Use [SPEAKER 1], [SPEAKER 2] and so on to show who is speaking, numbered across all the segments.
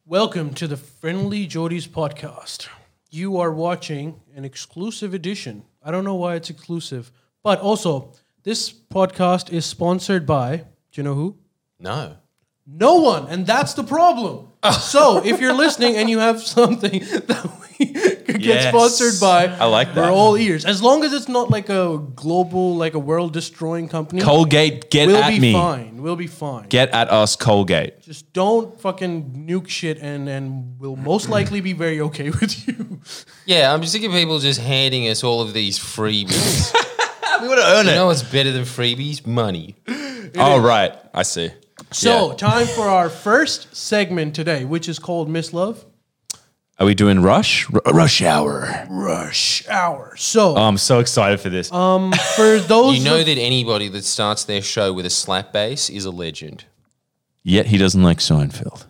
[SPEAKER 1] Welcome to the Friendly Jodies podcast. You are watching an exclusive edition. I don't know why it's exclusive, but also this podcast is sponsored by, do you know who?
[SPEAKER 2] No.
[SPEAKER 1] No one, and that's the problem. So if you're listening and you have something that we could get
[SPEAKER 3] Yes.
[SPEAKER 1] sponsored by,
[SPEAKER 3] I like that.
[SPEAKER 1] we're all ears. As long as it's not like a global, like a world-destroying company,
[SPEAKER 3] Colgate, get
[SPEAKER 1] we'll
[SPEAKER 3] at
[SPEAKER 1] be
[SPEAKER 3] me.
[SPEAKER 1] fine. We'll be fine.
[SPEAKER 3] Get at us, Colgate.
[SPEAKER 1] Just don't fucking nuke shit, and we'll most likely be very okay with you.
[SPEAKER 2] Yeah, I'm sick of people just handing us all of these freebies.
[SPEAKER 3] We want to earn
[SPEAKER 2] You
[SPEAKER 3] it.
[SPEAKER 2] know what's better than freebies? Money.
[SPEAKER 3] Oh, right. I see.
[SPEAKER 1] So,
[SPEAKER 3] Yeah.
[SPEAKER 1] time for our first segment today, which is called Miss Love.
[SPEAKER 3] Are we doing Rush? Rush Hour.
[SPEAKER 1] Rush Hour. So,
[SPEAKER 3] Oh, I'm so excited for this.
[SPEAKER 1] for those
[SPEAKER 2] You know
[SPEAKER 1] of-
[SPEAKER 2] that anybody that starts their show with a slap bass is a legend.
[SPEAKER 3] Yet he doesn't like Seinfeld.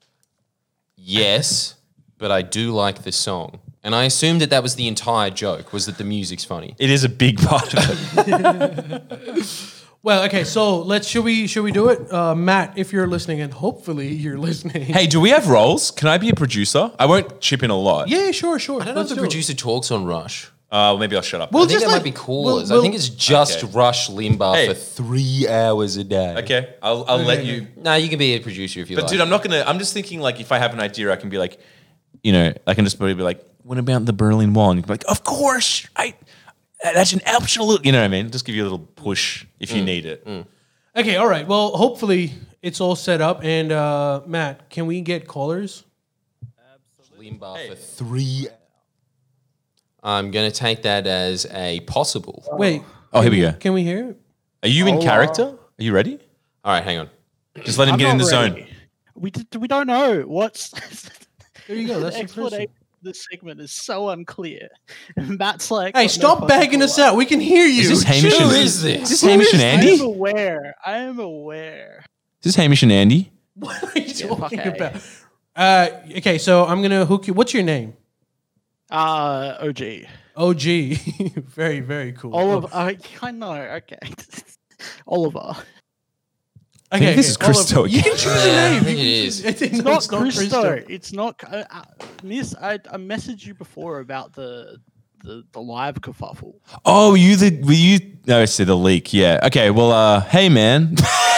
[SPEAKER 2] Yes, but I do like the song. And I assumed that was the entire joke, was that the music's funny.
[SPEAKER 3] It is a big part of it.
[SPEAKER 1] well, okay, so should we do it? Matt, if you're listening, and hopefully you're listening.
[SPEAKER 3] Hey, do we have roles? Can I be a producer? I won't chip in a lot.
[SPEAKER 1] Yeah, sure.
[SPEAKER 2] I don't know if the producer talks on Rush.
[SPEAKER 3] Maybe I'll shut up.
[SPEAKER 1] We'll
[SPEAKER 2] I think
[SPEAKER 1] just
[SPEAKER 2] that
[SPEAKER 1] let-
[SPEAKER 2] might be callers.
[SPEAKER 1] we'll-
[SPEAKER 2] I think it's just
[SPEAKER 3] Okay.
[SPEAKER 2] Rush Limbaugh
[SPEAKER 3] Hey.
[SPEAKER 2] for 3 hours a day.
[SPEAKER 3] Okay, I'll let you.
[SPEAKER 2] No, you can be a producer if you
[SPEAKER 3] But
[SPEAKER 2] like.
[SPEAKER 3] dude, I'm just thinking like if I have an idea, I can be like, I can just probably be like, what about the Berlin Wall? And you can be like, of course, that's an absolute, you know what I mean? Just give you a little push if you need it.
[SPEAKER 1] Okay, all right. Well, hopefully it's all set up. And Matt, can we get callers?
[SPEAKER 2] Limbaugh for 3 hours. I'm going to take that as a possible.
[SPEAKER 1] Wait.
[SPEAKER 3] Oh, here we go.
[SPEAKER 1] Can we hear it?
[SPEAKER 3] Are you in character? Are you ready?
[SPEAKER 2] All right, hang on.
[SPEAKER 3] Just let him get in the zone.
[SPEAKER 4] We don't know what's
[SPEAKER 1] There you go. That's
[SPEAKER 4] the
[SPEAKER 1] the first
[SPEAKER 4] explanation.
[SPEAKER 1] one.
[SPEAKER 4] of this segment is so unclear. And Matt's like,
[SPEAKER 1] Hey,
[SPEAKER 4] got no
[SPEAKER 1] stop
[SPEAKER 4] fucking
[SPEAKER 1] bagging
[SPEAKER 4] clue.
[SPEAKER 1] us out. We can hear you.
[SPEAKER 3] Is this Hamish
[SPEAKER 2] Who
[SPEAKER 3] and
[SPEAKER 2] is this?
[SPEAKER 3] Is this Hamish and
[SPEAKER 4] I
[SPEAKER 3] Andy?
[SPEAKER 4] am
[SPEAKER 3] Is
[SPEAKER 4] aware. I am aware.
[SPEAKER 3] this Hamish and Andy?
[SPEAKER 1] What are you talking
[SPEAKER 4] okay.
[SPEAKER 1] about? Okay, so I'm gonna hook you. What's your name?
[SPEAKER 4] OG.
[SPEAKER 1] OG. Very, very cool.
[SPEAKER 4] Oliver. I know. Okay. Oliver.
[SPEAKER 3] I think this is
[SPEAKER 1] Oliver.
[SPEAKER 3] Christo
[SPEAKER 1] You
[SPEAKER 3] again.
[SPEAKER 1] can choose a
[SPEAKER 2] Yeah,
[SPEAKER 1] name.
[SPEAKER 2] I think
[SPEAKER 1] You
[SPEAKER 2] it
[SPEAKER 1] can
[SPEAKER 2] is.
[SPEAKER 1] choose- I think
[SPEAKER 4] It's
[SPEAKER 1] no,
[SPEAKER 4] not
[SPEAKER 1] it's not
[SPEAKER 4] Christo. It's not. Miss, I messaged you before about the live kerfuffle.
[SPEAKER 3] Oh, were you? No, I see the leak. Yeah. Okay. Well, hey man.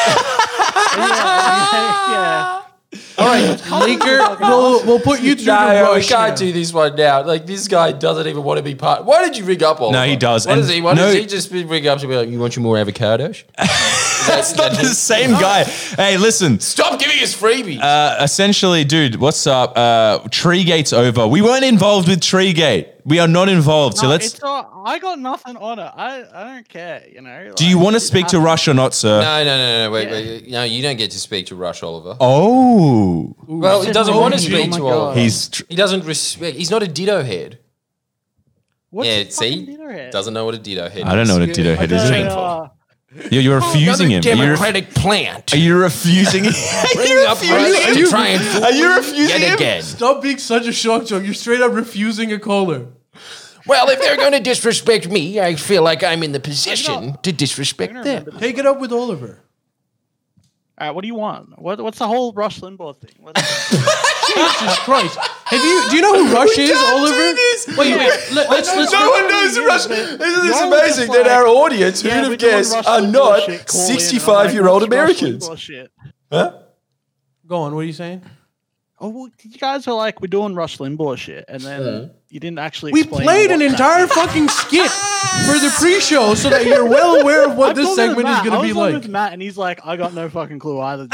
[SPEAKER 4] yeah.
[SPEAKER 1] All right, Leaker. We'll put you through the
[SPEAKER 2] No, we
[SPEAKER 1] rush
[SPEAKER 2] can't
[SPEAKER 1] now.
[SPEAKER 2] do this one now. Like, this guy doesn't even want to be part. Why did you ring up Oliver?
[SPEAKER 3] No, he does.
[SPEAKER 2] What
[SPEAKER 3] And
[SPEAKER 2] does he? Why
[SPEAKER 3] no-
[SPEAKER 2] does he just ring up to be like, you want your more avocados?
[SPEAKER 3] That's not the same guy. Hey, listen.
[SPEAKER 2] Stop giving us freebies.
[SPEAKER 3] Essentially, dude, what's up? Treegate's over. We weren't involved with Treegate. We are not involved. So
[SPEAKER 4] No,
[SPEAKER 3] let's.
[SPEAKER 4] it's not, I got nothing on it. I don't care. You know.
[SPEAKER 3] Do you want to speak to Rush or not, sir?
[SPEAKER 2] no. Wait,
[SPEAKER 4] Yeah.
[SPEAKER 2] wait. No, you don't get to speak to Rush Oliver.
[SPEAKER 3] Oh,
[SPEAKER 2] Well, he
[SPEAKER 4] Said
[SPEAKER 2] doesn't
[SPEAKER 4] my
[SPEAKER 2] want to
[SPEAKER 4] name.
[SPEAKER 2] speak
[SPEAKER 4] Oh my
[SPEAKER 2] to
[SPEAKER 4] God.
[SPEAKER 2] Oliver.
[SPEAKER 3] he's.
[SPEAKER 2] He doesn't respect. He's not a ditto head.
[SPEAKER 4] What's
[SPEAKER 2] Yeah,
[SPEAKER 4] a fucking
[SPEAKER 2] see?
[SPEAKER 4] dinner head?
[SPEAKER 2] Doesn't know what a ditto head is.
[SPEAKER 3] I don't know what a ditto head is.
[SPEAKER 4] Okay,
[SPEAKER 3] either. You're refusing him.
[SPEAKER 2] Democratic plant.
[SPEAKER 3] Are you refusing him?
[SPEAKER 2] Bring up Rush to try and fool
[SPEAKER 3] Are you
[SPEAKER 2] me
[SPEAKER 3] refusing
[SPEAKER 2] yet
[SPEAKER 3] him?
[SPEAKER 2] again.
[SPEAKER 1] Stop being such a shock joke. You're straight up refusing a caller.
[SPEAKER 2] Well, if they're going to disrespect me, I feel like I'm in the position to disrespect them.
[SPEAKER 1] Take it up with Oliver.
[SPEAKER 4] All right, what do you want? What's the whole Rush Limbaugh thing?
[SPEAKER 1] Jesus Christ. Do you know who Rush is, Oliver? Wait. Let's
[SPEAKER 3] No one knows who Rush. Isn't this
[SPEAKER 4] You're
[SPEAKER 3] amazing
[SPEAKER 4] just
[SPEAKER 3] that
[SPEAKER 4] like-
[SPEAKER 3] our audience,
[SPEAKER 4] Yeah,
[SPEAKER 3] who'd
[SPEAKER 4] we're
[SPEAKER 3] have
[SPEAKER 4] doing
[SPEAKER 3] guessed,
[SPEAKER 4] Rush
[SPEAKER 3] are
[SPEAKER 4] Limbaugh
[SPEAKER 3] not
[SPEAKER 4] shit. Call in, I'm like,
[SPEAKER 3] 65-year-old
[SPEAKER 4] what's Rush
[SPEAKER 3] Americans?
[SPEAKER 4] Limbaugh shit?
[SPEAKER 3] Huh?
[SPEAKER 1] Go on. What are you saying?
[SPEAKER 4] Oh, well, you guys are like, we're doing Rush Limbaugh shit, and then you didn't actually.
[SPEAKER 1] We
[SPEAKER 4] explain
[SPEAKER 1] played
[SPEAKER 4] what
[SPEAKER 1] an
[SPEAKER 4] that
[SPEAKER 1] entire
[SPEAKER 4] is.
[SPEAKER 1] fucking skit for the pre-show so that you're well aware of what
[SPEAKER 4] I've
[SPEAKER 1] this
[SPEAKER 4] gone with
[SPEAKER 1] segment is
[SPEAKER 4] Matt.
[SPEAKER 1] going
[SPEAKER 4] I
[SPEAKER 1] to be
[SPEAKER 4] was on
[SPEAKER 1] like.
[SPEAKER 4] with Matt, and he's like, I got no fucking clue either.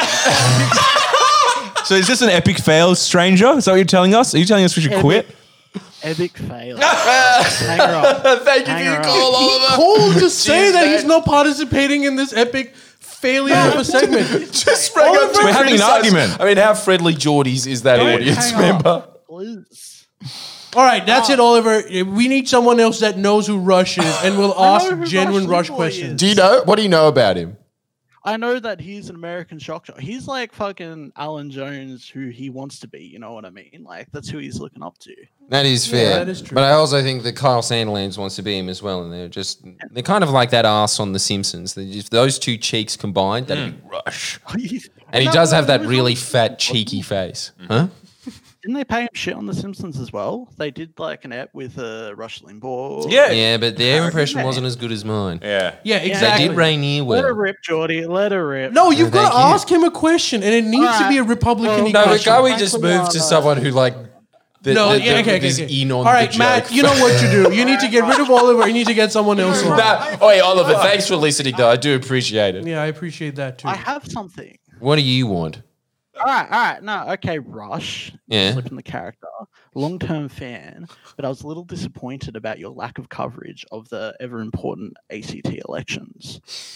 [SPEAKER 3] So is this an epic fail, stranger? Is that what you're telling us? Are you telling us we should quit?
[SPEAKER 4] Epic fail. Hang her up.
[SPEAKER 2] Thank you
[SPEAKER 4] Hang
[SPEAKER 2] for your
[SPEAKER 4] her
[SPEAKER 2] call,
[SPEAKER 1] He
[SPEAKER 2] Oliver.
[SPEAKER 1] called to say
[SPEAKER 2] Jeez,
[SPEAKER 1] that
[SPEAKER 2] man.
[SPEAKER 1] he's not participating in this epic failure of a segment.
[SPEAKER 2] Just sprang up to
[SPEAKER 3] We're having an
[SPEAKER 2] criticize-
[SPEAKER 3] argument.
[SPEAKER 2] I mean, how friendly Geordies is that audience
[SPEAKER 4] Hang
[SPEAKER 2] member?
[SPEAKER 4] up, please.
[SPEAKER 1] All right, that's it, Oliver. We need someone else that knows who Rush is and will
[SPEAKER 4] I
[SPEAKER 1] ask
[SPEAKER 4] know who
[SPEAKER 1] genuine
[SPEAKER 4] Rush
[SPEAKER 1] Rush
[SPEAKER 4] Limbaugh
[SPEAKER 1] questions.
[SPEAKER 4] is.
[SPEAKER 2] Do you know? What do you know about him?
[SPEAKER 4] I know that he's an American shock jock. He's like fucking Alan Jones, who he wants to be. You know what I mean? Like that's who he's looking up to.
[SPEAKER 2] That is fair.
[SPEAKER 1] that is true.
[SPEAKER 2] But I also think that Kyle Sandilands wants to be him as well, and they're kind of like that ass on The Simpsons. If those two cheeks combined, that'd be Rush. And he does have that really fat, cheeky face. Huh?
[SPEAKER 4] Didn't they pay him shit on The Simpsons as well? They did like an ep with Rush Limbaugh.
[SPEAKER 2] Yeah, but their impression wasn't as good as mine.
[SPEAKER 3] Yeah.
[SPEAKER 1] Yeah,
[SPEAKER 2] They
[SPEAKER 1] exactly.
[SPEAKER 2] did Rainier
[SPEAKER 4] Let her
[SPEAKER 2] well.
[SPEAKER 4] rip, Geordie. Let her rip.
[SPEAKER 1] No, you've
[SPEAKER 2] Thank
[SPEAKER 1] got to
[SPEAKER 2] you.
[SPEAKER 1] ask him a question, and it needs to be a Republican
[SPEAKER 2] No, but
[SPEAKER 1] question.
[SPEAKER 2] can't we just move to someone who like is in on
[SPEAKER 1] All right,
[SPEAKER 2] the
[SPEAKER 1] Matt,
[SPEAKER 2] joke?
[SPEAKER 1] you know what to do. You need to get rid of Oliver. You need to get someone else on.
[SPEAKER 2] Hey, Oliver, thanks for listening, though. I do appreciate it.
[SPEAKER 1] Yeah, I appreciate that too.
[SPEAKER 4] I have something.
[SPEAKER 2] What do you want?
[SPEAKER 4] All right. No, okay, Rush.
[SPEAKER 2] Yeah.
[SPEAKER 4] Slipping the character. Long-term fan, but I was a little disappointed about your lack of coverage of the ever-important ACT elections.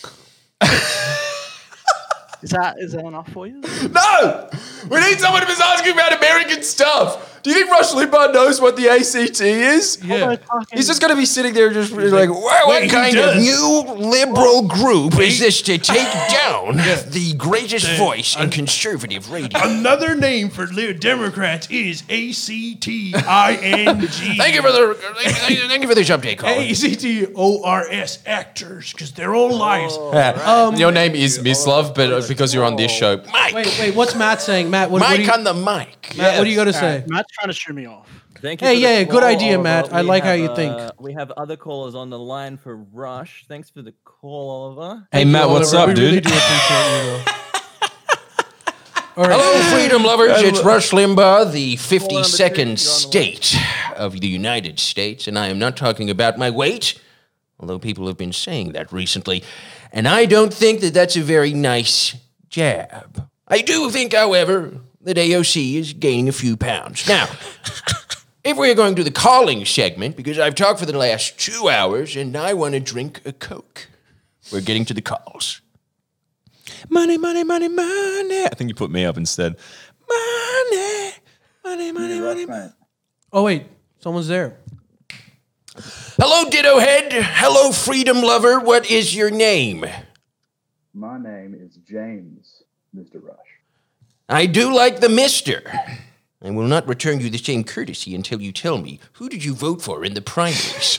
[SPEAKER 4] Is that enough for you?
[SPEAKER 2] No! We need someone who's asking about American stuff. Do you think Rush Limbaugh knows what the ACT is?
[SPEAKER 1] Yeah.
[SPEAKER 2] He's just going to be sitting there just like, what
[SPEAKER 1] wait,
[SPEAKER 2] kind
[SPEAKER 1] who
[SPEAKER 2] of
[SPEAKER 1] does?
[SPEAKER 2] new liberal group is this to take down the greatest voice in conservative radio?
[SPEAKER 1] Another name for Democrats is ACTING.
[SPEAKER 2] Thank you for this update, Colin.
[SPEAKER 1] ACTORS actors, because they're all liars.
[SPEAKER 2] Your name is Mislav, but because you're on this show, Mike.
[SPEAKER 1] Wait, what's Matt saying? Matt, what do
[SPEAKER 2] Mike
[SPEAKER 1] you,
[SPEAKER 2] on the mic.
[SPEAKER 1] Matt, what do you got to say?
[SPEAKER 4] Matt's trying to shoot me off.
[SPEAKER 5] Thank you.
[SPEAKER 1] Hey,
[SPEAKER 5] for the
[SPEAKER 1] yeah, good
[SPEAKER 5] call,
[SPEAKER 1] idea,
[SPEAKER 5] Oliver.
[SPEAKER 1] Matt. I
[SPEAKER 5] We
[SPEAKER 1] like how
[SPEAKER 5] have,
[SPEAKER 1] you think.
[SPEAKER 5] We have other callers on the line for Rush. Thanks for the call, Oliver.
[SPEAKER 3] Hey, Matt, what's
[SPEAKER 1] Oliver,
[SPEAKER 3] up,
[SPEAKER 1] we really
[SPEAKER 3] dude?
[SPEAKER 1] do appreciate you, though. All right.
[SPEAKER 2] Hello, freedom lovers. It's Rush Limbaugh, the
[SPEAKER 5] Caller number 2,
[SPEAKER 2] 52nd
[SPEAKER 5] you're on the
[SPEAKER 2] state of the United States, and I am not talking about my weight, although people have been saying that recently, and I don't think that that's a very nice jab. I do think, however, that AOC is gaining a few pounds. Now, if we're going to the calling segment, because I've talked for the last 2 hours, and I want to drink a Coke, we're getting to the calls.
[SPEAKER 3] Money, money, money, money. I think you put me up instead. Money, money, money, money, money.
[SPEAKER 1] Oh, wait. Someone's there.
[SPEAKER 2] Hello, Ditto Head. Hello, freedom lover. What is your name?
[SPEAKER 6] My name is James, Mr. Rush.
[SPEAKER 2] I do like the mister. I will not return you the same courtesy until you tell me, who did you vote for in the primaries?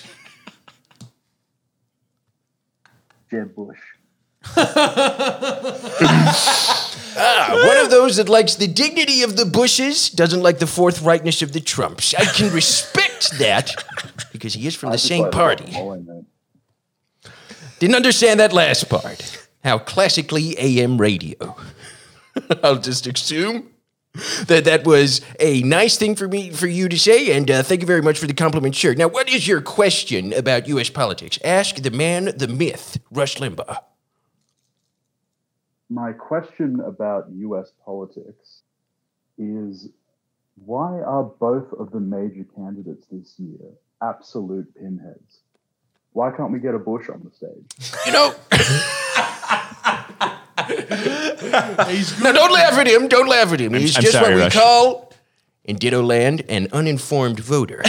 [SPEAKER 6] Jeb Bush.
[SPEAKER 2] One of those that likes the dignity of the Bushes, doesn't like the forthrightness of the Trumps. I can respect that because he is from the same party. Didn't understand that last part. How classically AM radio. I'll just assume that was a nice thing for you to say, and thank you very much for the compliment, sure. Now, what is your question about U.S. politics? Ask the man, the myth, Rush Limbaugh.
[SPEAKER 6] My question about U.S. politics is, why are both of the major candidates this year absolute pinheads? Why can't we get a Bush on the stage?
[SPEAKER 2] You know... No, don't laugh at him. Don't laugh at him. He's
[SPEAKER 3] I'm
[SPEAKER 2] just
[SPEAKER 3] sorry,
[SPEAKER 2] what we
[SPEAKER 3] Rush.
[SPEAKER 2] call, in Ditto Land, an uninformed voter.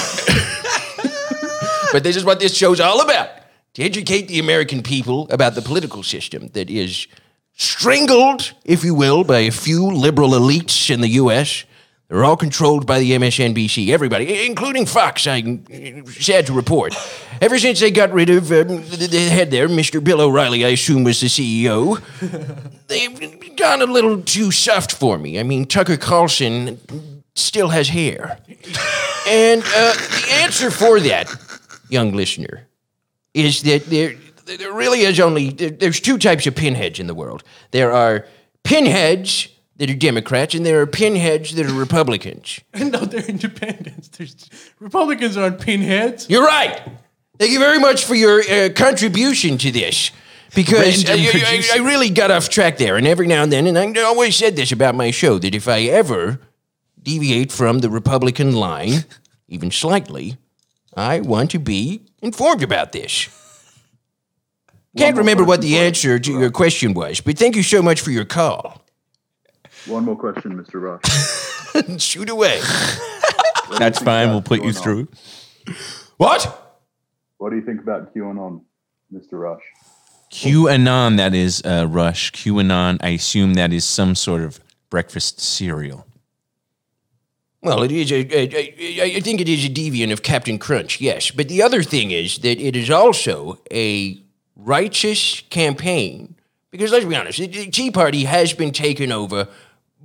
[SPEAKER 2] But this is what this show's all about. To educate the American people about the political system that is strangled, if you will, by a few liberal elites in the U.S. They're all controlled by the MSNBC. Everybody, including Fox, I'm sad to report. Ever since they got rid of the head there, Mr. Bill O'Reilly, I assume was the CEO, they've gone a little too soft for me. I mean, Tucker Carlson still has hair. And the answer for that, young listener, is that there really is there's two types of pinheads in the world. There are pinheads that are Democrats, and there are pinheads that are Republicans.
[SPEAKER 1] No, they're independents. Republicans aren't pinheads.
[SPEAKER 2] You're right. Thank you very much for your contribution to this. Because I really got off track there, and every now and then, and I always said this about my show, that if I ever deviate from the Republican line, even slightly, I want to be informed about this. Can't remember what the answer to your question was, but thank you so much for your call.
[SPEAKER 6] One more question, Mr. Rush.
[SPEAKER 2] Shoot away.
[SPEAKER 3] That's fine. We'll put you through.
[SPEAKER 2] What?
[SPEAKER 6] What do you think about QAnon, Mr. Rush?
[SPEAKER 3] QAnon, that is Rush. QAnon, I assume that is some sort of breakfast cereal.
[SPEAKER 2] Well, it is I think it is a deviant of Captain Crunch, yes. But the other thing is that it is also a righteous campaign. Because let's be honest, the Tea Party has been taken over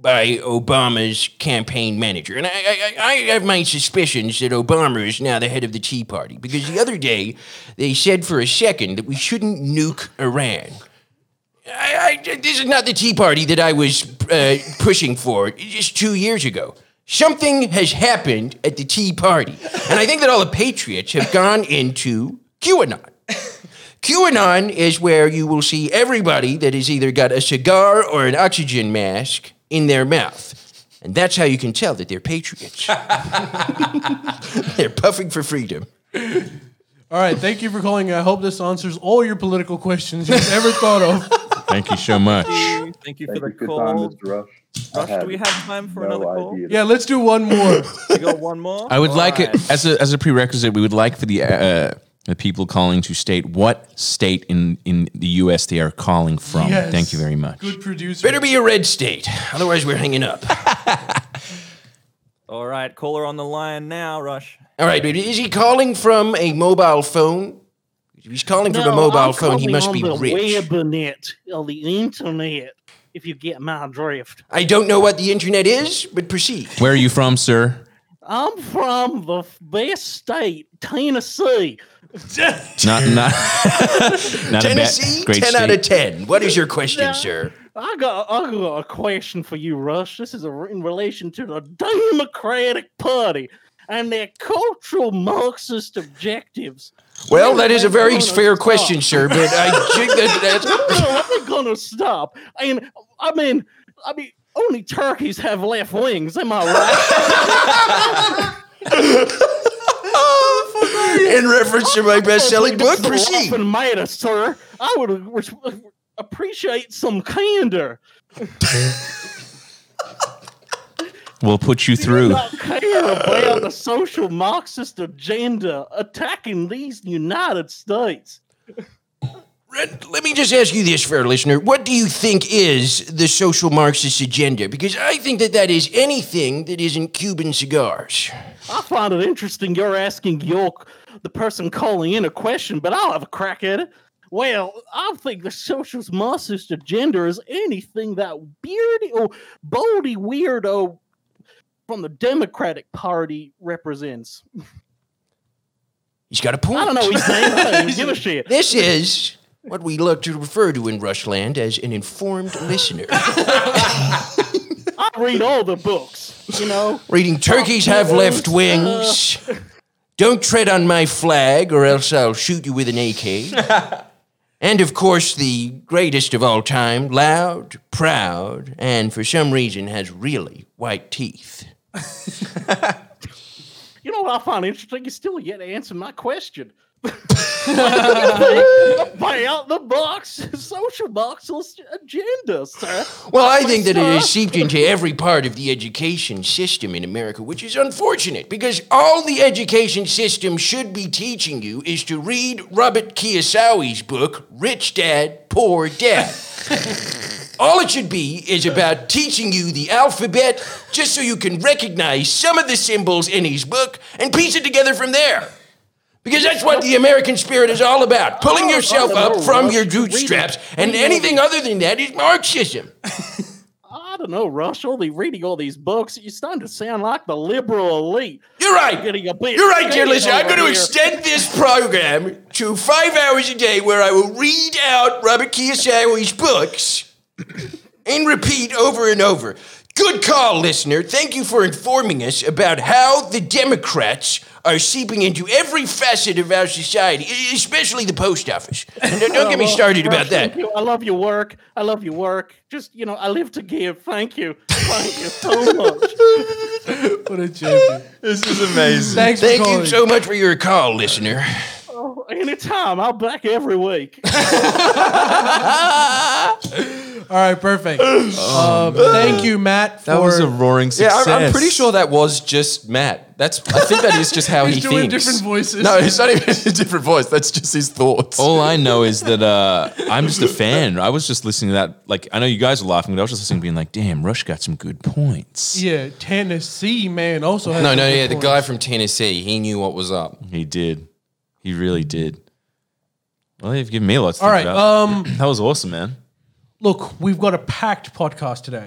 [SPEAKER 2] by Obama's campaign manager. And I have my suspicions that Obama is now the head of the Tea Party, because the other day they said for a second that we shouldn't nuke Iran. This is not the Tea Party that I was pushing for just 2 years ago. Something has happened at the Tea Party, and I think that all the patriots have gone into QAnon. QAnon is where you will see everybody that has either got a cigar or an oxygen mask in their mouth. And that's how you can tell that they're patriots. They're puffing for freedom.
[SPEAKER 1] All right, thank you for calling. I hope this answers all your political questions you've ever thought of.
[SPEAKER 3] Thank you so much.
[SPEAKER 5] Thank you
[SPEAKER 6] Thank
[SPEAKER 5] for
[SPEAKER 6] you
[SPEAKER 5] the
[SPEAKER 6] for your time,
[SPEAKER 5] call.
[SPEAKER 6] Mr. Rush.
[SPEAKER 5] Rush, do we have time for another call?
[SPEAKER 1] Yeah, let's do one more.
[SPEAKER 5] We got one more.
[SPEAKER 3] I would
[SPEAKER 5] All
[SPEAKER 3] like
[SPEAKER 5] right.
[SPEAKER 3] it as a prerequisite. We would like for the people calling to state what state in the U.S. they are calling from.
[SPEAKER 1] Yes.
[SPEAKER 3] Thank you very much.
[SPEAKER 1] Good producer.
[SPEAKER 2] Better be a red state, otherwise we're hanging up.
[SPEAKER 5] All right, caller on the line now, Rush.
[SPEAKER 2] All right, but is he calling from a mobile phone? If he's calling from a mobile phone, he must be rich.
[SPEAKER 4] Webinet, or the internet, if you get my drift.
[SPEAKER 2] I don't know what the internet is, but proceed.
[SPEAKER 3] Where are you from, sir?
[SPEAKER 4] I'm from the best state, Tennessee.
[SPEAKER 3] Not not a
[SPEAKER 2] Tennessee,
[SPEAKER 3] great
[SPEAKER 2] 10
[SPEAKER 3] state.
[SPEAKER 2] out of 10. What is your question, sir?
[SPEAKER 4] I got a question for you, Rush. This is in relation to the Democratic Party and their cultural Marxist objectives.
[SPEAKER 2] Well, that is a very
[SPEAKER 4] When are they
[SPEAKER 2] fair
[SPEAKER 4] gonna
[SPEAKER 2] question,
[SPEAKER 4] stop?
[SPEAKER 2] sir, but I think that's...
[SPEAKER 4] When are they gonna stop? I mean, only turkeys have left wings. Am I right?
[SPEAKER 2] In reference to my best-selling book, proceed.
[SPEAKER 4] And matter, sir. I would appreciate some candor.
[SPEAKER 3] We'll put you
[SPEAKER 4] Do
[SPEAKER 3] through.
[SPEAKER 4] not care about the social Marxist agenda attacking these United States.
[SPEAKER 2] Let me just ask you this, fair listener. What do you think is the social Marxist agenda? Because I think that is anything that isn't Cuban cigars.
[SPEAKER 4] I find it interesting you're asking the person calling in a question, but I'll have a crack at it. Well, I think the social Marxist agenda is anything that boldy weirdo from the Democratic Party represents.
[SPEAKER 2] He's got a point.
[SPEAKER 4] I don't know his name. I don't even give a shit.
[SPEAKER 2] This is what we like to refer to in Rushland as an informed listener.
[SPEAKER 4] I read all the books, you know.
[SPEAKER 2] Reading Turkeys Have Left Wings. Don't tread on my flag or else I'll shoot you with an AK. And of course, the greatest of all time, Loud, Proud, and for some reason has really white teeth.
[SPEAKER 4] You know what I find interesting? You still yet to answer my question. Buy out the box, social Marxist agenda, sir.
[SPEAKER 2] Well, I think that it has seeped into every part of the education system in America, which is unfortunate because all the education system should be teaching you is to read Robert Kiyosawa's book, Rich Dad, Poor Dad. All it should be is about teaching you the alphabet just so you can recognize some of the symbols in his book and piece it together from there. Because that's what the American spirit is all about. Pulling yourself up from your bootstraps, and anything other than that is Marxism.
[SPEAKER 4] I don't know, Rush. Only reading all these books, you're starting to sound like the liberal elite.
[SPEAKER 2] You're right.
[SPEAKER 4] Getting a bit
[SPEAKER 2] You're right, dear
[SPEAKER 4] shady
[SPEAKER 2] listener. I'm
[SPEAKER 4] over
[SPEAKER 2] going to
[SPEAKER 4] here.
[SPEAKER 2] extend this program to 5 hours a day where I will read out Robert Kiyosawa's books and repeat over and over. Good call, listener. Thank you for informing us about how the Democrats are seeping into every facet of our society, especially the post office. And don't get me started
[SPEAKER 4] Rush,
[SPEAKER 2] about that.
[SPEAKER 4] thank you. I love your work. I love your work. Just, I live to give. Thank you. Thank you so much.
[SPEAKER 1] What a champion.
[SPEAKER 3] This is amazing.
[SPEAKER 1] Thanks for
[SPEAKER 2] Thank
[SPEAKER 1] calling.
[SPEAKER 2] you so much for your call, listener.
[SPEAKER 4] Oh, anytime. I'll back every week.
[SPEAKER 1] All right, perfect. Thank you, Matt, for...
[SPEAKER 3] That was a roaring
[SPEAKER 7] Yeah,
[SPEAKER 3] success.
[SPEAKER 7] I'm pretty sure that was just Matt. I think that is just how
[SPEAKER 1] He's
[SPEAKER 7] he
[SPEAKER 1] doing
[SPEAKER 7] thinks.
[SPEAKER 1] different voices.
[SPEAKER 7] No, it's not even a different voice. That's just his thoughts.
[SPEAKER 3] All I know is that I'm just a fan. I was just listening to that. Like, I know you guys are laughing, but I was just listening, being like, "Damn, Rush got some good points."
[SPEAKER 1] Yeah, Tennessee, man, also has
[SPEAKER 7] No,
[SPEAKER 1] some good
[SPEAKER 7] yeah, the
[SPEAKER 1] points.
[SPEAKER 7] guy from Tennessee, he knew what was up.
[SPEAKER 3] He did. He really did. Well, they've given me a lot to
[SPEAKER 1] All
[SPEAKER 3] think
[SPEAKER 1] right,
[SPEAKER 3] about. That was awesome, man.
[SPEAKER 1] Look, we've got a packed podcast today.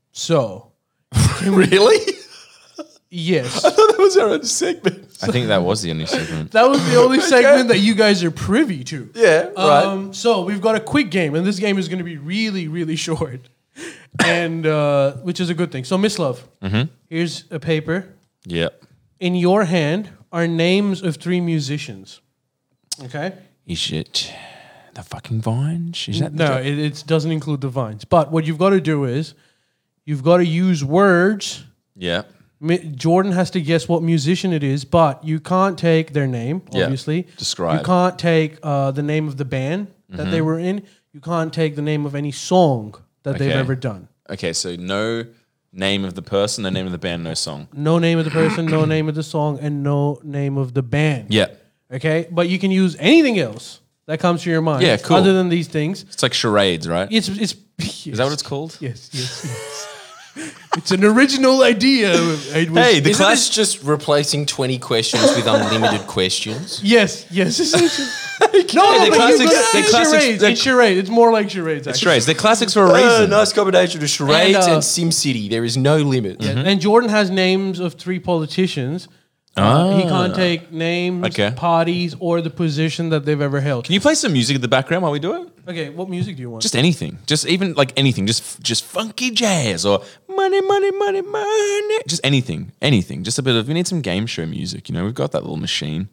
[SPEAKER 1] So,
[SPEAKER 2] Really?
[SPEAKER 1] yes.
[SPEAKER 2] That was our own segment.
[SPEAKER 3] I think that was the only segment.
[SPEAKER 1] That was the only segment that you guys are privy to.
[SPEAKER 2] Yeah, right.
[SPEAKER 1] So we've got a quick game, and this game is going to be really, really short, and which is a good thing. So, Miss Love, here's a paper.
[SPEAKER 3] Yep.
[SPEAKER 1] In your hand are names of 3 musicians. Okay?
[SPEAKER 3] Is it the fucking Vines? Is that
[SPEAKER 1] No, it doesn't include the Vines. But what you've got to do is you've got to use words.
[SPEAKER 3] Yeah.
[SPEAKER 1] Jordan has to guess what musician it is, but you can't take their name,
[SPEAKER 3] Yeah.
[SPEAKER 1] obviously.
[SPEAKER 3] Describe.
[SPEAKER 1] You can't take the name of the band that they were in. You can't take the name of any song that they've
[SPEAKER 3] Okay.
[SPEAKER 1] ever done.
[SPEAKER 3] Okay, so no name of the person, no name of the band, no song.
[SPEAKER 1] No name of the person, no name of the song, and no name of the band.
[SPEAKER 3] Yeah.
[SPEAKER 1] Okay? But you can use anything else that comes to your mind.
[SPEAKER 3] Yeah, cool.
[SPEAKER 1] Other than these things.
[SPEAKER 3] It's like charades, right?
[SPEAKER 1] It's
[SPEAKER 3] Is that what it's called?
[SPEAKER 1] Yes. It's an original idea. It was-
[SPEAKER 3] Hey, the
[SPEAKER 2] Isn't
[SPEAKER 3] class.
[SPEAKER 2] this just replacing 20 questions with unlimited questions?
[SPEAKER 1] Yes. No,
[SPEAKER 3] the
[SPEAKER 1] but you
[SPEAKER 3] classics-
[SPEAKER 1] got-
[SPEAKER 3] the
[SPEAKER 1] it's
[SPEAKER 3] classics-
[SPEAKER 1] charades.
[SPEAKER 3] the-
[SPEAKER 1] It's charades. It's more like charades. Actually.
[SPEAKER 3] Charades. They're classics for a reason.
[SPEAKER 2] Nice combination of charades
[SPEAKER 1] And,
[SPEAKER 2] and SimCity. There is no limit.
[SPEAKER 1] Yeah, and Jordan has names of 3 politicians. He can't take names,
[SPEAKER 3] Okay.
[SPEAKER 1] parties, or the position that they've ever held.
[SPEAKER 3] Can you play some music in the background while we do it?
[SPEAKER 1] Okay, what music do you want?
[SPEAKER 3] Just anything. Just even like anything. Just funky jazz or money, money, money, money. Just anything. Anything. Just a bit of. We need some game show music. You know, we've got that little machine.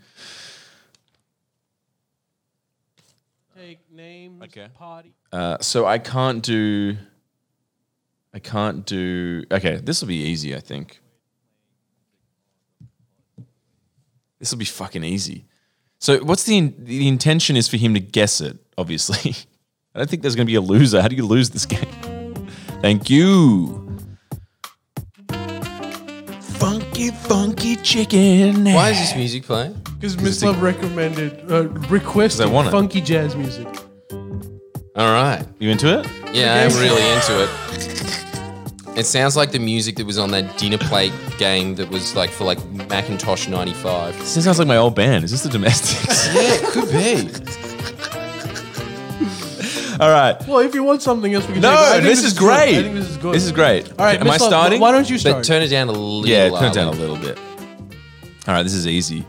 [SPEAKER 1] take names,
[SPEAKER 3] Okay.
[SPEAKER 1] party.
[SPEAKER 3] So I can't do. Okay, this will be easy. I think. This will be fucking easy. So what's the intention is for him to guess it, obviously. I don't think there's going to be a loser. How do you lose this game? Thank you. Funky, funky chicken.
[SPEAKER 2] Why is this music playing?
[SPEAKER 1] Because Miss Love requested
[SPEAKER 3] I want it.
[SPEAKER 1] funky jazz music.
[SPEAKER 2] All right.
[SPEAKER 3] You into it?
[SPEAKER 2] Yeah, I'm really into it. It sounds like the music that was on that dinner plate game that was like for like Macintosh 95.
[SPEAKER 3] This sounds like my old band. Is this the Domestics?
[SPEAKER 2] Yeah, it could be.
[SPEAKER 3] All right.
[SPEAKER 1] Well, if you want something else, we can
[SPEAKER 3] No,
[SPEAKER 1] take it. I think
[SPEAKER 3] this is
[SPEAKER 1] good.
[SPEAKER 3] great.
[SPEAKER 1] I think this is good.
[SPEAKER 3] This is great.
[SPEAKER 1] All right,
[SPEAKER 3] Am I
[SPEAKER 1] Miss Love,
[SPEAKER 3] starting?
[SPEAKER 1] Why don't you
[SPEAKER 2] But
[SPEAKER 1] start?
[SPEAKER 2] turn it down a little.
[SPEAKER 3] Yeah, turn it down a
[SPEAKER 2] Ali.
[SPEAKER 3] little bit. All right, this is easy.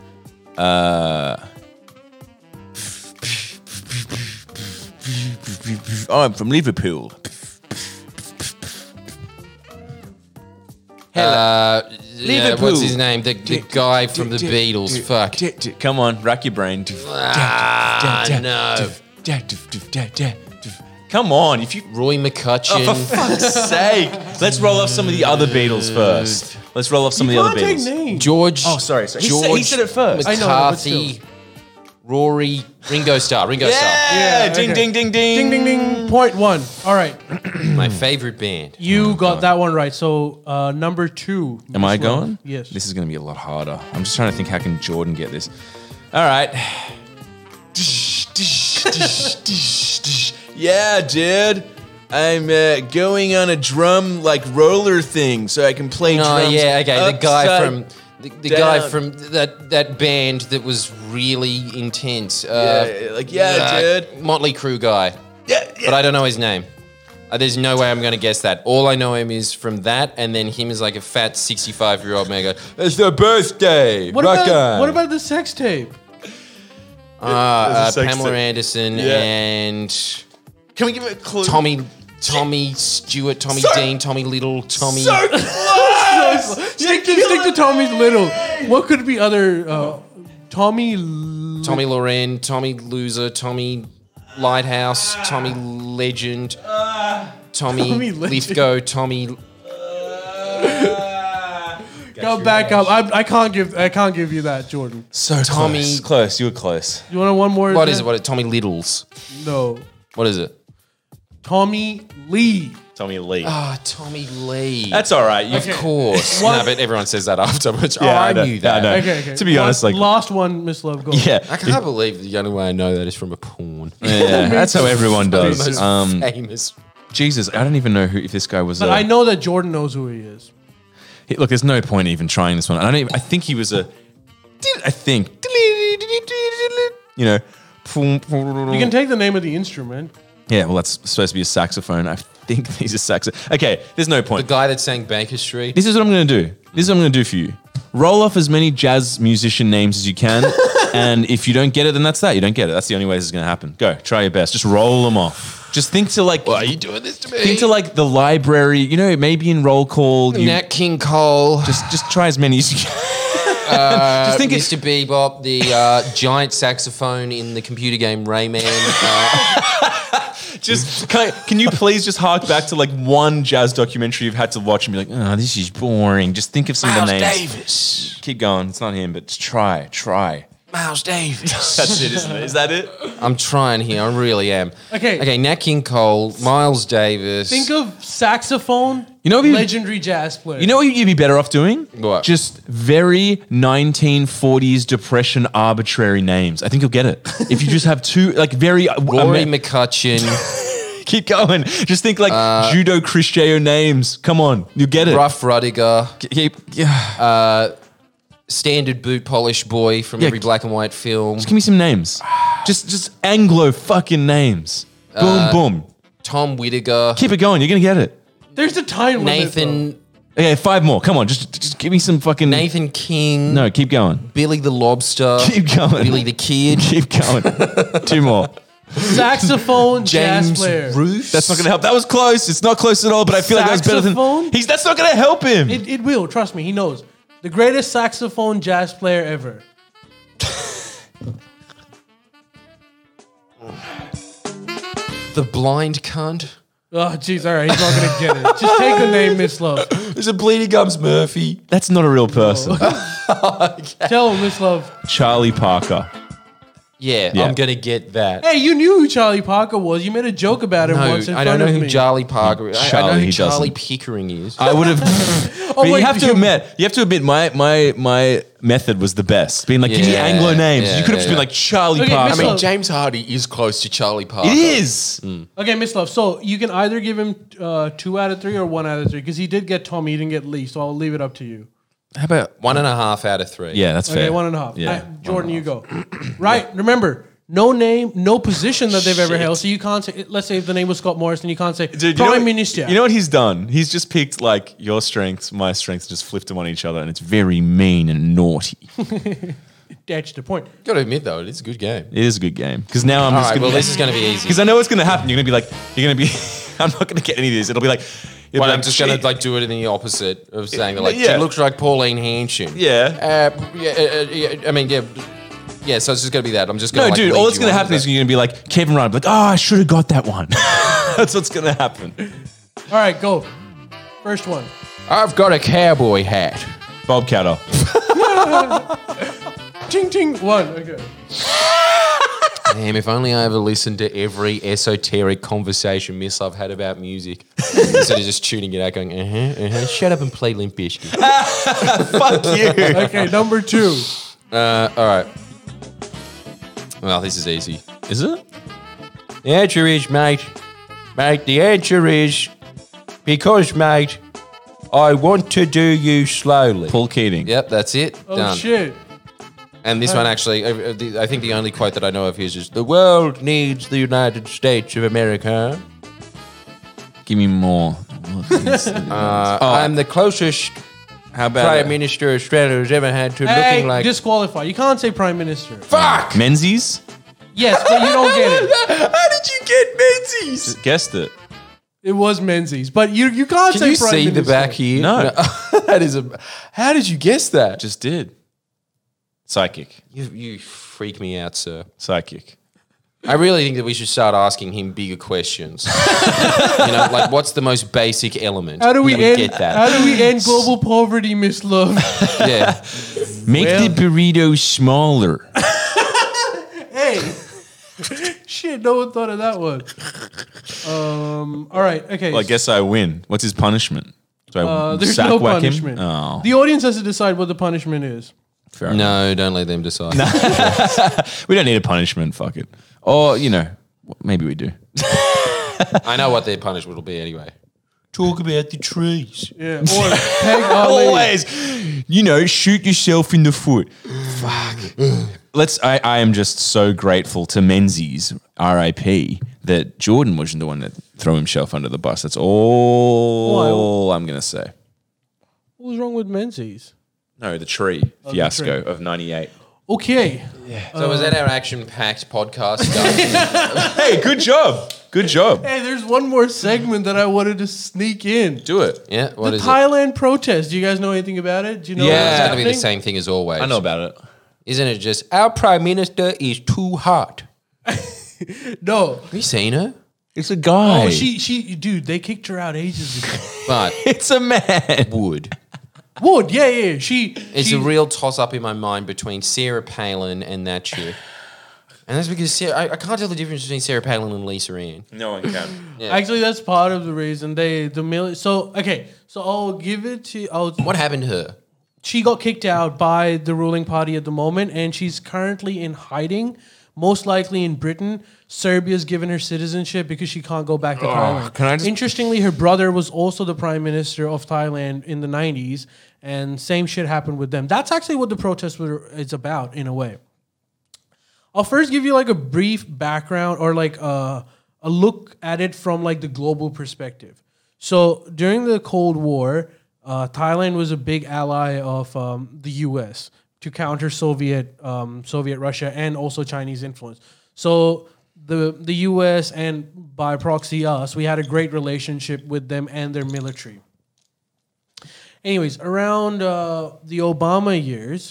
[SPEAKER 3] Oh, I'm from Liverpool.
[SPEAKER 2] Liverpool. What's his name? The guy from the Beatles. Fuck.
[SPEAKER 3] Come on, rack your brain.
[SPEAKER 2] No.
[SPEAKER 3] Come on, if you.
[SPEAKER 2] Roy McCutcheon.
[SPEAKER 3] For fuck's sake. Let's roll off some of the other Beatles first. Let's roll off some of the other
[SPEAKER 1] Can't take
[SPEAKER 3] Beatles.
[SPEAKER 1] names.
[SPEAKER 2] George.
[SPEAKER 3] Oh, sorry. He
[SPEAKER 2] George
[SPEAKER 3] said it first.
[SPEAKER 1] I know, but
[SPEAKER 2] McCarthy. Rory. Ringo Starr.
[SPEAKER 3] Yeah,
[SPEAKER 1] Yeah,
[SPEAKER 3] ding,
[SPEAKER 1] okay.
[SPEAKER 3] ding, ding, ding.
[SPEAKER 1] Ding, ding, ding. Point 1. All right.
[SPEAKER 2] Starr. My favorite band.
[SPEAKER 1] You got that one right. So, number 2.
[SPEAKER 3] Am I
[SPEAKER 1] Miss Love.
[SPEAKER 3] going?
[SPEAKER 1] Yes.
[SPEAKER 3] This is going to be a lot harder. I'm just trying to think how can Jordan get this. All right. Yeah, dude. I'm going on a drum like roller thing so I can play
[SPEAKER 2] Oh
[SPEAKER 3] drums.
[SPEAKER 2] yeah, okay. The guy
[SPEAKER 3] upside
[SPEAKER 2] from the guy
[SPEAKER 3] down.
[SPEAKER 2] from that band that was really intense.
[SPEAKER 3] dude.
[SPEAKER 2] Motley Crue guy.
[SPEAKER 3] Yeah,
[SPEAKER 2] But I don't know his name. There's no way I'm going to guess that. All I know him is from that, and then him as like a fat 65-year-old man go, "It's their birthday."
[SPEAKER 1] What about the sex tape?
[SPEAKER 3] There's a sex
[SPEAKER 2] Pamela
[SPEAKER 3] tape.
[SPEAKER 2] Anderson
[SPEAKER 3] Yeah.
[SPEAKER 2] and
[SPEAKER 3] Can we give it a clue?
[SPEAKER 2] Tommy Stewart, Tommy Dean, Tommy Little, Tommy.
[SPEAKER 1] Stick to Tommy's Little. What could be other Tommy
[SPEAKER 2] Loren, Tommy Loser, Tommy Lighthouse, Tommy Legend, Tommy
[SPEAKER 1] Tommy Legend.
[SPEAKER 2] Lithgow, Tommy.
[SPEAKER 1] Go back up. I can't give you that, Jordan.
[SPEAKER 3] So
[SPEAKER 2] Tommy-
[SPEAKER 3] close. Close. You were close.
[SPEAKER 1] You want one more?
[SPEAKER 2] What is it? What? Tommy Littles.
[SPEAKER 1] No.
[SPEAKER 2] What is it?
[SPEAKER 1] Tommy Lee.
[SPEAKER 3] Tommy Lee.
[SPEAKER 2] Ah, Tommy Lee.
[SPEAKER 3] That's all right. You
[SPEAKER 2] Of course.
[SPEAKER 1] One-
[SPEAKER 2] No, but everyone says that afterwards.
[SPEAKER 3] Yeah,
[SPEAKER 2] I
[SPEAKER 3] I know.
[SPEAKER 2] knew that.
[SPEAKER 3] I know.
[SPEAKER 1] Okay.
[SPEAKER 3] To be honest, like-
[SPEAKER 1] last one, Miss Love. Go.
[SPEAKER 3] Yeah.
[SPEAKER 2] I can't believe the only way I know that is from a porn.
[SPEAKER 3] Yeah, that's how everyone
[SPEAKER 2] The
[SPEAKER 3] does.
[SPEAKER 2] most famous.
[SPEAKER 3] Jesus, I don't even know if this guy was.
[SPEAKER 1] But I know that Jordan knows who he is.
[SPEAKER 3] Look, there's no point even trying this one. I think he was a. I think. You know.
[SPEAKER 1] You can take the name of the instrument.
[SPEAKER 3] Yeah, well, that's supposed to be a saxophone. I think he's a saxophone. Okay, there's no
[SPEAKER 7] The
[SPEAKER 3] point.
[SPEAKER 7] guy that sang Baker Street.
[SPEAKER 3] This is what I'm going to do. This is what I'm going to do for you. Roll off as many jazz musician names as you can. And if you don't get it, then that's that. You don't get it. That's the only way this is going to happen. Go, try your best. Just roll them off. Just think to like.
[SPEAKER 7] Why are you doing this to me?
[SPEAKER 3] Think to like the library. You know, maybe in roll call.
[SPEAKER 7] Nat King Cole.
[SPEAKER 3] Just try as many as you can.
[SPEAKER 7] Just
[SPEAKER 3] think
[SPEAKER 7] Mr. Bebop, the giant saxophone in the computer game Rayman.
[SPEAKER 3] Just can you please just hark back to like one jazz documentary you've had to watch and be like, oh, this is boring. Just think of some of the
[SPEAKER 7] Miles
[SPEAKER 3] names.
[SPEAKER 7] Davis.
[SPEAKER 3] Keep going. It's not him, but just try.
[SPEAKER 7] Miles Davis.
[SPEAKER 3] That's it, isn't it? Is that it?
[SPEAKER 7] I'm trying here. I really am.
[SPEAKER 1] Okay.
[SPEAKER 7] Okay, Nat King Cole, Miles Davis.
[SPEAKER 1] Think of saxophone,
[SPEAKER 3] You know what
[SPEAKER 1] legendary jazz player.
[SPEAKER 3] You know what you'd be better off doing?
[SPEAKER 7] What?
[SPEAKER 3] Just very 1940s depression arbitrary names. I think you'll get it. If you just have two, like very...
[SPEAKER 7] Rory McCutcheon,
[SPEAKER 3] Keep going. Just think like judo Cristeo names. Come on, you'll get it.
[SPEAKER 7] Ruff Rudiger,
[SPEAKER 3] Yeah.
[SPEAKER 7] standard boot polish boy from every black and white film.
[SPEAKER 3] Just give me some names. Just Anglo fucking names. Boom, boom.
[SPEAKER 7] Tom Whittaker,
[SPEAKER 3] Keep it going. You're going to get it.
[SPEAKER 1] There's a time limit. though.
[SPEAKER 7] Nathan
[SPEAKER 3] Okay, 5 more. Come on. Just give me some fucking...
[SPEAKER 7] Nathan King,
[SPEAKER 3] No, keep going.
[SPEAKER 7] Billy the Lobster,
[SPEAKER 3] Keep going.
[SPEAKER 7] Billy the Kid,
[SPEAKER 3] Keep going. 2 more.
[SPEAKER 1] Saxophone jazz
[SPEAKER 7] James
[SPEAKER 1] player.
[SPEAKER 7] Roos.
[SPEAKER 3] That's not going to help. That was close. It's not close at all, but I feel like that was better
[SPEAKER 1] Saxophone?
[SPEAKER 3] than... That's not going to help him.
[SPEAKER 1] It will. Trust me. He knows. The greatest saxophone jazz player ever.
[SPEAKER 7] The blind cunt.
[SPEAKER 1] Oh, jeez. All right. He's not going to get it. Just take the name, Miss Love.
[SPEAKER 7] There's a Bleeding Gums Murphy.
[SPEAKER 3] That's not a real person.
[SPEAKER 1] Tell him, Miss Love.
[SPEAKER 3] Charlie Parker.
[SPEAKER 7] Yeah,
[SPEAKER 3] Yeah.
[SPEAKER 7] I'm gonna get that.
[SPEAKER 1] Hey, you knew who Charlie Parker was. You made a joke about him
[SPEAKER 7] No,
[SPEAKER 1] once in
[SPEAKER 7] I
[SPEAKER 1] front
[SPEAKER 7] don't know
[SPEAKER 1] of
[SPEAKER 7] who
[SPEAKER 1] me.
[SPEAKER 7] Charlie Parker is. I know
[SPEAKER 3] Charlie,
[SPEAKER 7] who
[SPEAKER 3] he
[SPEAKER 7] Charlie
[SPEAKER 3] doesn't.
[SPEAKER 7] Pickering is.
[SPEAKER 3] I would have...
[SPEAKER 1] Oh,
[SPEAKER 3] you
[SPEAKER 1] wait,
[SPEAKER 3] have to admit, my method was the best. Being like, give me
[SPEAKER 7] Yeah,
[SPEAKER 3] Anglo names.
[SPEAKER 7] yeah,
[SPEAKER 3] you could have just
[SPEAKER 7] yeah.
[SPEAKER 3] been like Charlie
[SPEAKER 1] Okay,
[SPEAKER 3] Parker.
[SPEAKER 1] Miss
[SPEAKER 7] I mean,
[SPEAKER 1] Love.
[SPEAKER 7] James Hardy is close to Charlie Parker.
[SPEAKER 3] It is.
[SPEAKER 1] Okay, Miss Love. So you can either give him 2 out of 3 or 1 out of 3 because he did get Tommy, he didn't get Lee. So I'll leave it up to you.
[SPEAKER 3] How about...
[SPEAKER 7] 1.5 out of 3.
[SPEAKER 3] Yeah, that's
[SPEAKER 1] Okay,
[SPEAKER 3] fair.
[SPEAKER 1] 1.5.
[SPEAKER 3] Yeah.
[SPEAKER 1] Jordan, you go. Right. Remember, no name, no position that they've ever held. So you can't say. Let's say if the name was Scott Morrison, you can't say
[SPEAKER 3] Dude, you know
[SPEAKER 1] Prime
[SPEAKER 3] what-
[SPEAKER 1] Minister.
[SPEAKER 3] You know what he's done? He's just picked like your strengths, my strengths, just flipped them on each other, and it's very mean and naughty.
[SPEAKER 1] That's the point.
[SPEAKER 7] Got to admit though, it's a good game.
[SPEAKER 3] It is a good game because now I'm
[SPEAKER 7] All
[SPEAKER 3] just
[SPEAKER 7] right,
[SPEAKER 3] gonna,
[SPEAKER 7] well, this is going to be easy.
[SPEAKER 3] because I know what's gonna happen. You're gonna be. I'm not gonna get any of this. It'll be like. it'll
[SPEAKER 7] Well,
[SPEAKER 3] be
[SPEAKER 7] I'm just going to
[SPEAKER 3] shit.
[SPEAKER 7] like do it in the opposite of saying that. Like,
[SPEAKER 3] Yeah.
[SPEAKER 7] she looks like Pauline Hanson.
[SPEAKER 3] Yeah.
[SPEAKER 7] I mean, yeah. Yeah, so it's just going to be that. I'm just going
[SPEAKER 3] No,
[SPEAKER 7] to
[SPEAKER 3] dude. All that's gonna happen is you're gonna be like Kevin Ryan, like, oh, I should have got that one. That's what's gonna happen.
[SPEAKER 1] All right, go. First one.
[SPEAKER 7] I've got a cowboy hat.
[SPEAKER 3] Bob Catter.
[SPEAKER 1] Ting ting. 1. Okay.
[SPEAKER 7] Damn, if only I ever listened to every esoteric conversation Miss I've had about music instead of just tuning it out going, shut up and play Limp Bizkit.
[SPEAKER 3] Fuck you.
[SPEAKER 1] Okay, number 2.
[SPEAKER 7] All right. Well, this is easy.
[SPEAKER 3] Is it?
[SPEAKER 7] The answer is, mate. Mate, the answer is because, mate, I want to do you slowly.
[SPEAKER 3] Paul Keating.
[SPEAKER 7] Yep, that's it.
[SPEAKER 1] Oh
[SPEAKER 7] Done.
[SPEAKER 1] shit.
[SPEAKER 7] And this one actually, I think the only quote that I know of his is, "The world needs the United States of America."
[SPEAKER 3] Give me more.
[SPEAKER 7] I'm the closest
[SPEAKER 3] How about
[SPEAKER 7] Prime Minister Australia has ever had to
[SPEAKER 1] Hey,
[SPEAKER 7] looking like.
[SPEAKER 1] disqualify. You can't say Prime Minister.
[SPEAKER 7] Fuck!
[SPEAKER 3] Menzies?
[SPEAKER 1] Yes, but you don't get it.
[SPEAKER 7] How did you get Menzies?
[SPEAKER 3] Just guessed it.
[SPEAKER 1] It was Menzies, but you can't
[SPEAKER 7] Can
[SPEAKER 1] say
[SPEAKER 7] you
[SPEAKER 1] Prime
[SPEAKER 7] see
[SPEAKER 1] Minister.
[SPEAKER 7] the back here?
[SPEAKER 3] No.
[SPEAKER 7] That is a. How did you guess that?
[SPEAKER 3] Just did. Psychic.
[SPEAKER 7] You freak me out, sir.
[SPEAKER 3] Psychic.
[SPEAKER 7] I really think that we should start asking him bigger questions. Like what's the most basic element?
[SPEAKER 1] How do we end?
[SPEAKER 7] get that?
[SPEAKER 1] How do we end global poverty, Miss Love?
[SPEAKER 7] Yeah.
[SPEAKER 3] Make the burrito smaller.
[SPEAKER 1] Hey, shit! No one thought of that one. All right. Okay.
[SPEAKER 3] Well, I guess I win. What's his punishment? Do I
[SPEAKER 1] there's
[SPEAKER 3] sack
[SPEAKER 1] no
[SPEAKER 3] whack
[SPEAKER 1] punishment.
[SPEAKER 3] him? Oh,
[SPEAKER 1] The audience has to decide what the punishment is.
[SPEAKER 3] fair enough.
[SPEAKER 7] No, don't let them decide.
[SPEAKER 3] We don't need a punishment. Fuck it. Or, maybe we do.
[SPEAKER 7] I know what their punishment will be anyway. Talk about the trees.
[SPEAKER 1] Yeah. Or Peg Ali.
[SPEAKER 3] Always, shoot yourself in the foot. Fuck. I am just so grateful to Menzies R.I.P. that Jordan wasn't the one that threw himself under the bus. That's all I'm going to say.
[SPEAKER 1] What was wrong with Menzies?
[SPEAKER 3] No, the tree fiasco of 98.
[SPEAKER 1] Okay.
[SPEAKER 7] So was that our action-packed podcast stuff?
[SPEAKER 3] Hey, good job. Good job.
[SPEAKER 1] Hey, there's one more segment that I wanted to sneak in.
[SPEAKER 3] Do it.
[SPEAKER 1] The
[SPEAKER 7] Yeah, what is it?
[SPEAKER 1] Thailand protest. Do you guys know anything about it? Do you know
[SPEAKER 3] Yeah.
[SPEAKER 1] what's
[SPEAKER 7] It's going to be the
[SPEAKER 1] happening?
[SPEAKER 7] same thing as always.
[SPEAKER 3] I know about it.
[SPEAKER 7] Isn't it just, our Prime Minister is too hot?
[SPEAKER 1] No.
[SPEAKER 7] Have you seen her?
[SPEAKER 3] It's a guy.
[SPEAKER 1] Oh, dude, they kicked her out ages ago.
[SPEAKER 7] But
[SPEAKER 3] It's a man.
[SPEAKER 7] would.
[SPEAKER 1] Wood, yeah.
[SPEAKER 7] It's a real toss-up in my mind between Sarah Palin and that chick. And that's because I can't tell the difference between Sarah Palin and Lisa Ann.
[SPEAKER 3] No one can.
[SPEAKER 7] Yeah.
[SPEAKER 1] Actually, that's part of the reason So I'll give it to.
[SPEAKER 7] What happened to her?
[SPEAKER 1] She got kicked out by the ruling party at the moment, and she's currently in hiding, most likely in Britain. Serbia's given her citizenship because she can't go back to Thailand.
[SPEAKER 3] can I just-
[SPEAKER 1] Interestingly, her brother was also the prime minister of Thailand in the 90s, and same shit happened with them. That's actually what the protest is about, in a way. I'll first give you like a brief background or like a look at it from like the global perspective. So during the Cold War, Thailand was a big ally of the U.S. to counter Soviet Russia and also Chinese influence. So the U.S. and by proxy us, we had a great relationship with them and their military. Anyways, around the Obama years,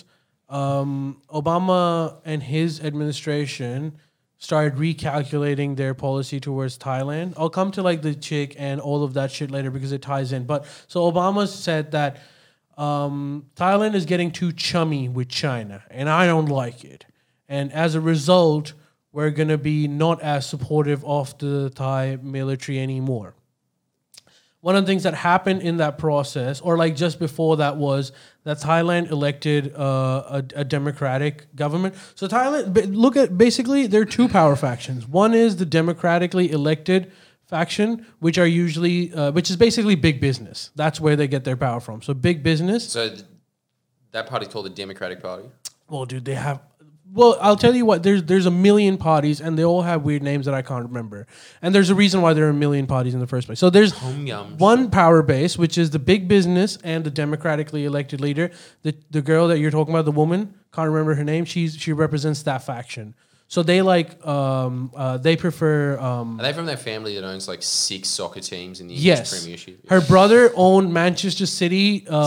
[SPEAKER 1] Obama and his administration started recalculating their policy towards Thailand. I'll come to like the chick and all of that shit later because it ties in. But so Obama said that Thailand is getting too chummy with China, and I don't like it. And as a result, we're going to be not as supportive of the Thai military anymore. One of the things that happened in that process, or like just before that, was that Thailand elected a democratic government. So Thailand, basically, there are two power factions. One is the democratically elected faction, which is basically big business. That's where they get their power from. So big business.
[SPEAKER 7] So that party's called the Democratic Party?
[SPEAKER 1] Well, dude, they have. Well, I'll tell you what. There's a million parties, and they all have weird names that I can't remember. And there's a reason why there are a million parties in the first place. So there's one power base, which is the big business and the democratically elected leader. The girl that you're talking about, the woman, can't remember her name. She represents that faction. So they they prefer.
[SPEAKER 7] Are they from that family that owns like 6 soccer teams in the English
[SPEAKER 1] Yes,
[SPEAKER 7] Premiership?
[SPEAKER 1] her brother owned Manchester City in mid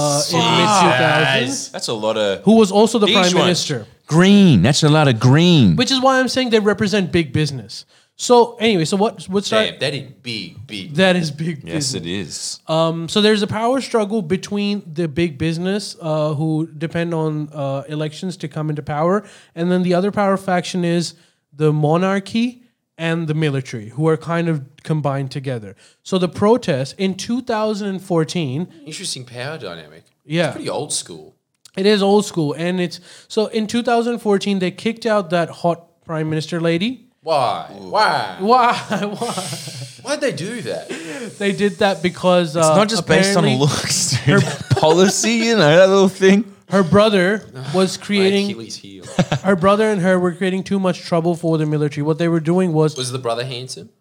[SPEAKER 1] 2000s.
[SPEAKER 3] That's a lot of
[SPEAKER 1] Who was also the
[SPEAKER 3] These
[SPEAKER 1] prime
[SPEAKER 3] ones.
[SPEAKER 1] minister.
[SPEAKER 3] green. That's a lot of green.
[SPEAKER 1] Which is why I'm saying they represent big business. So anyway, so what's
[SPEAKER 7] Damn, that is big.
[SPEAKER 1] that is big
[SPEAKER 3] Yes,
[SPEAKER 1] business.
[SPEAKER 3] it is.
[SPEAKER 1] So there's a power struggle between the big business who depend on elections to come into power, and then the other power faction is the monarchy and the military, who are kind of combined together. So the protest in 2014,
[SPEAKER 7] Interesting power dynamic.
[SPEAKER 1] Yeah.
[SPEAKER 7] It's pretty old school.
[SPEAKER 1] it is old school, and it's so in 2014 they kicked out that hot prime minister lady.
[SPEAKER 7] Why? Why?
[SPEAKER 1] Why?
[SPEAKER 7] Why'd they do that?
[SPEAKER 1] They did that because
[SPEAKER 3] It's not just based on
[SPEAKER 1] apparently
[SPEAKER 3] looks, dude. Policy, you know, that little thing.
[SPEAKER 1] her brother was
[SPEAKER 7] My
[SPEAKER 1] creating.
[SPEAKER 7] Achilles heel.
[SPEAKER 1] Her brother and her were creating too much trouble for the military. What they were doing was,
[SPEAKER 7] Was the brother handsome?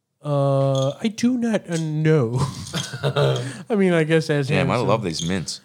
[SPEAKER 1] I do not know. I mean, I guess as
[SPEAKER 3] Damn, I
[SPEAKER 1] handsome.
[SPEAKER 3] love these mints.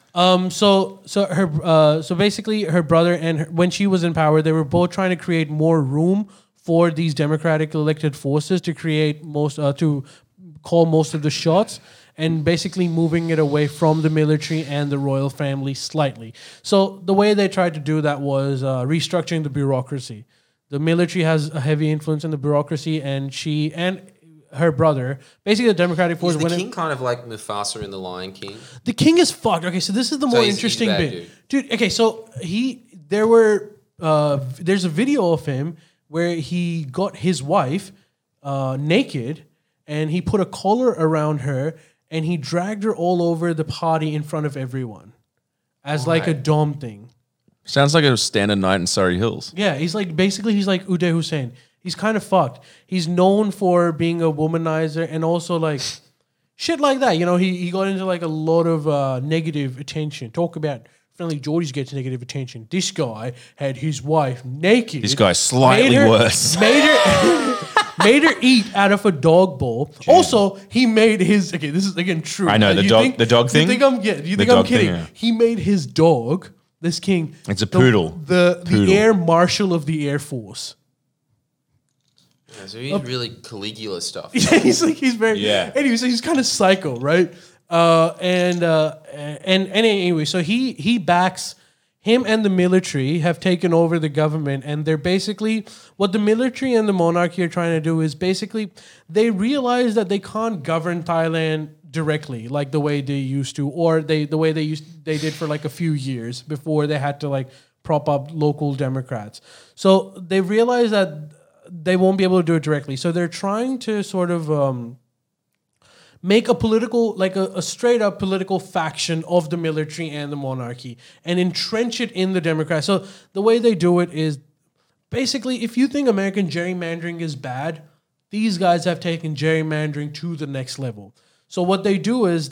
[SPEAKER 1] So basically, her brother and her, when she was in power, they were both trying to create more room for these democratic elected forces to create to call most of the shots, and basically moving it away from the military and the royal family slightly. So the way they tried to do that was restructuring the bureaucracy. The military has a heavy influence in the bureaucracy, and she and her brother, basically the democratic force.
[SPEAKER 7] Is the king kind of like Mufasa in The Lion King?
[SPEAKER 1] The king is fucked. Okay, so this is the more
[SPEAKER 7] he's a
[SPEAKER 1] interesting
[SPEAKER 7] bad
[SPEAKER 1] bit,
[SPEAKER 7] dude.
[SPEAKER 1] Okay, so there's a video of him where he got his wife naked, and he put a collar around her, and he dragged her all over the party in front of everyone, as like a dom thing.
[SPEAKER 3] Sounds like a standard night in Surrey Hills.
[SPEAKER 1] Yeah, he's like Uday Hussein. He's kind of fucked. He's known for being a womanizer and also like shit like that. You know, he got into like a lot of negative attention. Talk about Friendly Geordies gets negative attention. This guy had his wife naked.
[SPEAKER 3] This guy's slightly worse.
[SPEAKER 1] Made her made her eat out of a dog bowl. Also, he made his. Okay, this is again true.
[SPEAKER 3] I know, the dog thing?
[SPEAKER 1] You think I'm
[SPEAKER 3] The
[SPEAKER 1] I'm
[SPEAKER 3] dog
[SPEAKER 1] kidding?
[SPEAKER 3] thing, yeah.
[SPEAKER 1] He made his dog, this king.
[SPEAKER 3] It's a poodle.
[SPEAKER 1] The
[SPEAKER 3] Poodle.
[SPEAKER 1] air marshal of the Air Force.
[SPEAKER 7] Yeah, so he's really Caligula stuff.
[SPEAKER 1] Yeah, he's very.
[SPEAKER 3] Yeah.
[SPEAKER 1] Anyway, so he's kind of psycho, right? And anyway, so he backs. Him and the military have taken over the government, and they're basically what the military and the monarchy are trying to do is basically they realize that they can't govern Thailand directly like the way they used to, or the way they did for like a few years before they had to like prop up local Democrats. So they realize that they won't be able to do it directly. So they're trying to sort of make a political, like a straight up political faction of the military and the monarchy and entrench it in the Democrats. So the way they do it is basically, if you think American gerrymandering is bad, these guys have taken gerrymandering to the next level. So what they do is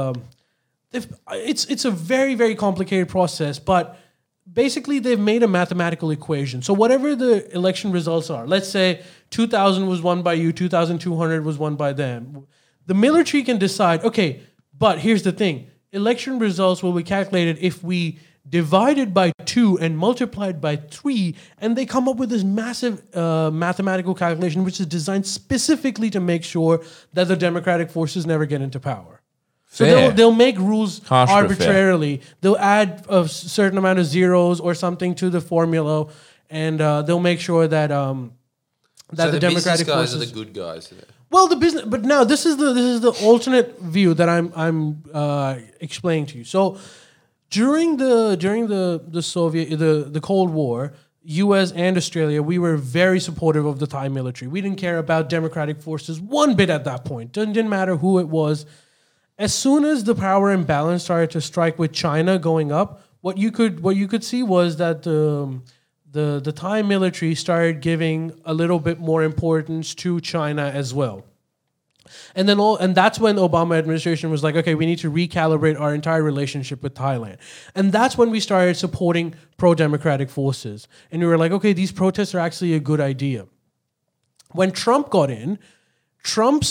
[SPEAKER 1] it's a very, very complicated process, but basically they've made a mathematical equation. So whatever the election results are, let's say 2,000 was won by you, 2,200 was won by them. The military can decide, okay, but here's the thing. Election results will be calculated if we divided by 2 and multiplied by 3, and they come up with this massive mathematical calculation which is designed specifically to make sure that the democratic forces never get into power. So
[SPEAKER 3] Fair.
[SPEAKER 1] they'll make rules
[SPEAKER 3] Harsh but fair.
[SPEAKER 1] arbitrarily. They'll add a certain amount of zeros or something to the formula, and they'll make sure that
[SPEAKER 7] So
[SPEAKER 1] the
[SPEAKER 7] the
[SPEAKER 1] democratic
[SPEAKER 7] business guys
[SPEAKER 1] forces
[SPEAKER 7] are the good guys.
[SPEAKER 1] well, the business, but now this is the alternate view that I'm explaining to you. So during the Soviet the Cold War, U.S. and Australia, we were very supportive of the Thai military. We didn't care about democratic forces one bit at that point. Didn't matter who it was. As soon as the power imbalance started to strike with China going up, what you could see was that the Thai military started giving a little bit more importance to China as well. And that's when the Obama administration was like, okay, we need to recalibrate our entire relationship with Thailand. And that's when we started supporting pro-democratic forces. And we were like, okay, these protests are actually a good idea. When Trump got in, Trump's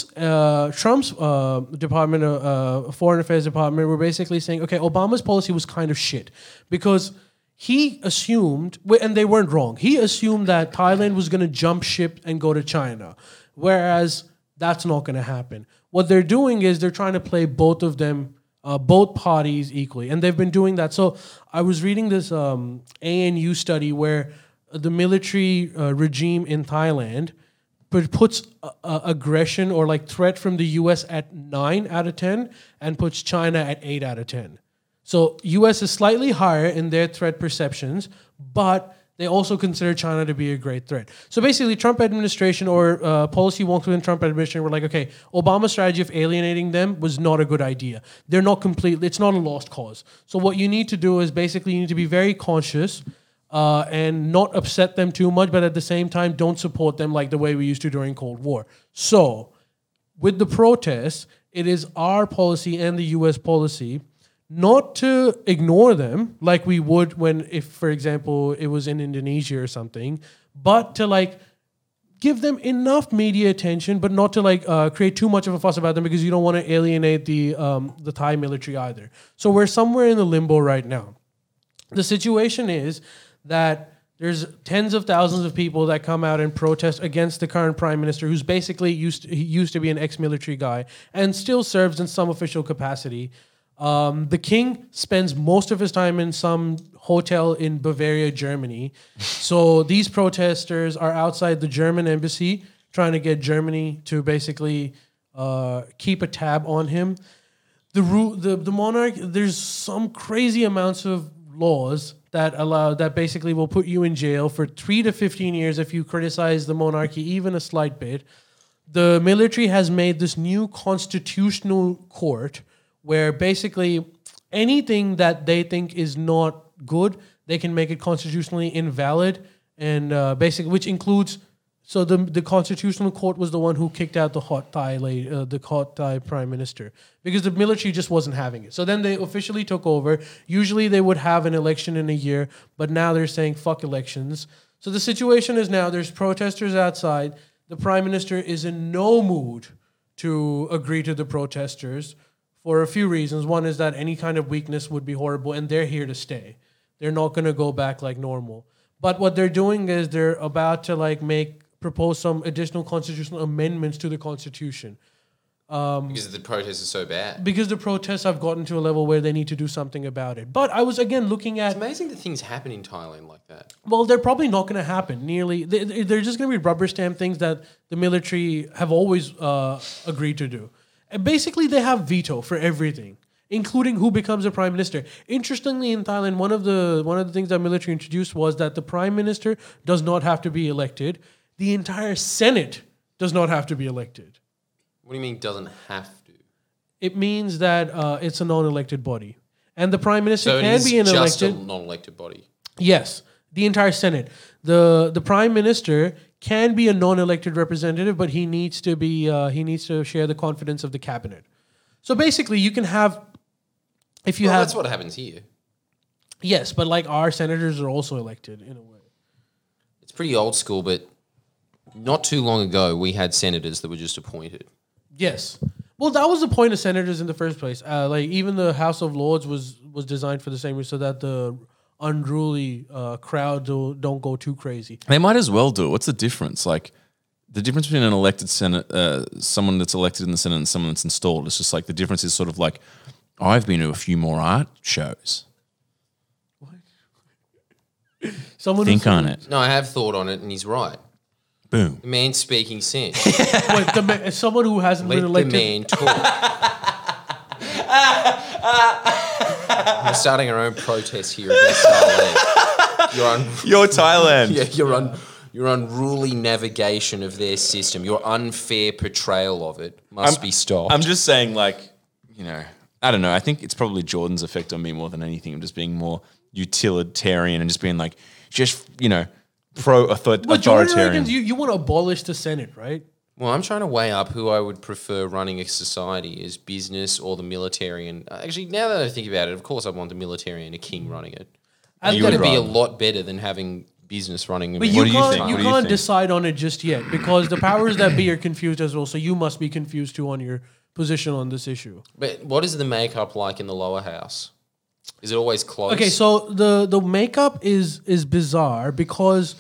[SPEAKER 1] Department of Foreign Affairs Department were basically saying, okay, Obama's policy was kind of shit because he assumed, and they weren't wrong, he assumed that Thailand was going to jump ship and go to China, whereas that's not going to happen. What they're doing is they're trying to play both of them, both parties equally, and they've been doing that. So I was reading this ANU study where the military regime in Thailand puts aggression or like threat from the U.S. at 9 out of 10 and puts China at 8 out of 10. So U.S. is slightly higher in their threat perceptions, but they also consider China to be a great threat. So basically, Trump administration or policy wonks within Trump administration were like, okay, Obama's strategy of alienating them was not a good idea. They're not completely, it's not a lost cause. So what you need to do is basically you need to be very conscious and not upset them too much, but at the same time, don't support them like the way we used to during Cold War. So with the protests, it is our policy and the U.S. policy not to ignore them like we would if, for example, it was in Indonesia or something, but to like give them enough media attention, but not to like create too much of a fuss about them because you don't want to alienate the Thai military either. So we're somewhere in the limbo right now. The situation is that there's tens of thousands of people that come out and protest against the current prime minister, who's basically used to be an ex-military guy and still serves in some official capacity. The king spends most of his time in some hotel in Bavaria, Germany. So these protesters are outside the German embassy trying to get Germany to basically keep a tab on him. The monarch, there's some crazy amounts of laws that basically will put you in jail for 3 to 15 years if you criticize the monarchy even a slight bit. The military has made this new constitutional court where basically anything that they think is not good, they can make it constitutionally invalid, and basically, which includes, so the constitutional court was the one who kicked out the hot Thai prime minister because the military just wasn't having it. So then they officially took over. Usually they would have an election in a year, but now they're saying fuck elections. So the situation is now there's protesters outside. the prime minister is in no mood to agree to the protesters for a few reasons. One is that any kind of weakness would be horrible, and they're here to stay. They're not going to go back like normal. But what they're doing is they're about to propose some additional constitutional amendments to the constitution.
[SPEAKER 7] Because the protests are so bad.
[SPEAKER 1] Because the protests have gotten to a level where they need to do something about it. But I was again looking at.
[SPEAKER 7] It's amazing that things happen in Thailand like that.
[SPEAKER 1] Well, they're probably not going to happen. They're just going to be rubber stamp things that the military have always agreed to do. And basically, they have veto for everything, including who becomes a prime minister. Interestingly, in Thailand, one of the things that military introduced was that the prime minister does not have to be elected. The entire Senate does not have to be elected.
[SPEAKER 7] What do you mean doesn't have to?
[SPEAKER 1] It means that it's a non-elected body. And the prime minister
[SPEAKER 7] So it
[SPEAKER 1] can
[SPEAKER 7] is
[SPEAKER 1] be an
[SPEAKER 7] just
[SPEAKER 1] elected.
[SPEAKER 7] a non-elected body.
[SPEAKER 1] Yes, the entire Senate. The prime minister can be a non-elected representative, but he needs to share the confidence of the cabinet. So basically, you can have, if you
[SPEAKER 7] Well,
[SPEAKER 1] have,
[SPEAKER 7] that's what happens here.
[SPEAKER 1] yes, but like our senators are also elected in a way.
[SPEAKER 7] It's pretty old school, but not too long ago, we had senators that were just appointed.
[SPEAKER 1] Yes. Well, that was the point of senators in the first place. Even the House of Lords was designed for the same reason, so that the unruly crowd don't go too crazy.
[SPEAKER 3] They might as well do it. What's the difference? Like the difference between an elected Senate, someone that's elected in the Senate and someone that's installed. It's just like the difference is sort of like, I've been to a few more art shows.
[SPEAKER 1] Someone
[SPEAKER 3] Think on it.
[SPEAKER 7] No, I have thought on it, and he's right.
[SPEAKER 3] Boom.
[SPEAKER 7] The man's speaking sense.
[SPEAKER 1] Someone who hasn't
[SPEAKER 7] Let
[SPEAKER 1] been
[SPEAKER 7] the
[SPEAKER 1] elected.
[SPEAKER 7] man talk. We're starting our own protest here against Thailand.
[SPEAKER 3] You're Thailand.
[SPEAKER 7] Yeah, your unruly navigation of their system, your unfair portrayal of it must be stopped.
[SPEAKER 3] I'm just saying, like, I don't know. I think it's probably Jordan's effect on me more than anything. I'm just being more utilitarian and just being like,
[SPEAKER 1] But Jordan
[SPEAKER 3] authoritarian.
[SPEAKER 1] reckons you want to abolish the Senate, right?
[SPEAKER 7] Well, I'm trying to weigh up who I would prefer running a society as business or the military. And actually, now that I think about it, of course I want the military and a king running it. It's going to be a lot better than having business running.
[SPEAKER 1] But
[SPEAKER 3] What do you think?
[SPEAKER 1] you
[SPEAKER 3] What do you
[SPEAKER 1] can't
[SPEAKER 3] think?
[SPEAKER 1] decide on it just yet because the powers that be are confused as well. So you must be confused too on your position on this issue.
[SPEAKER 7] But what is the makeup like in the lower house? Is it always close?
[SPEAKER 1] Okay, so the makeup is bizarre because,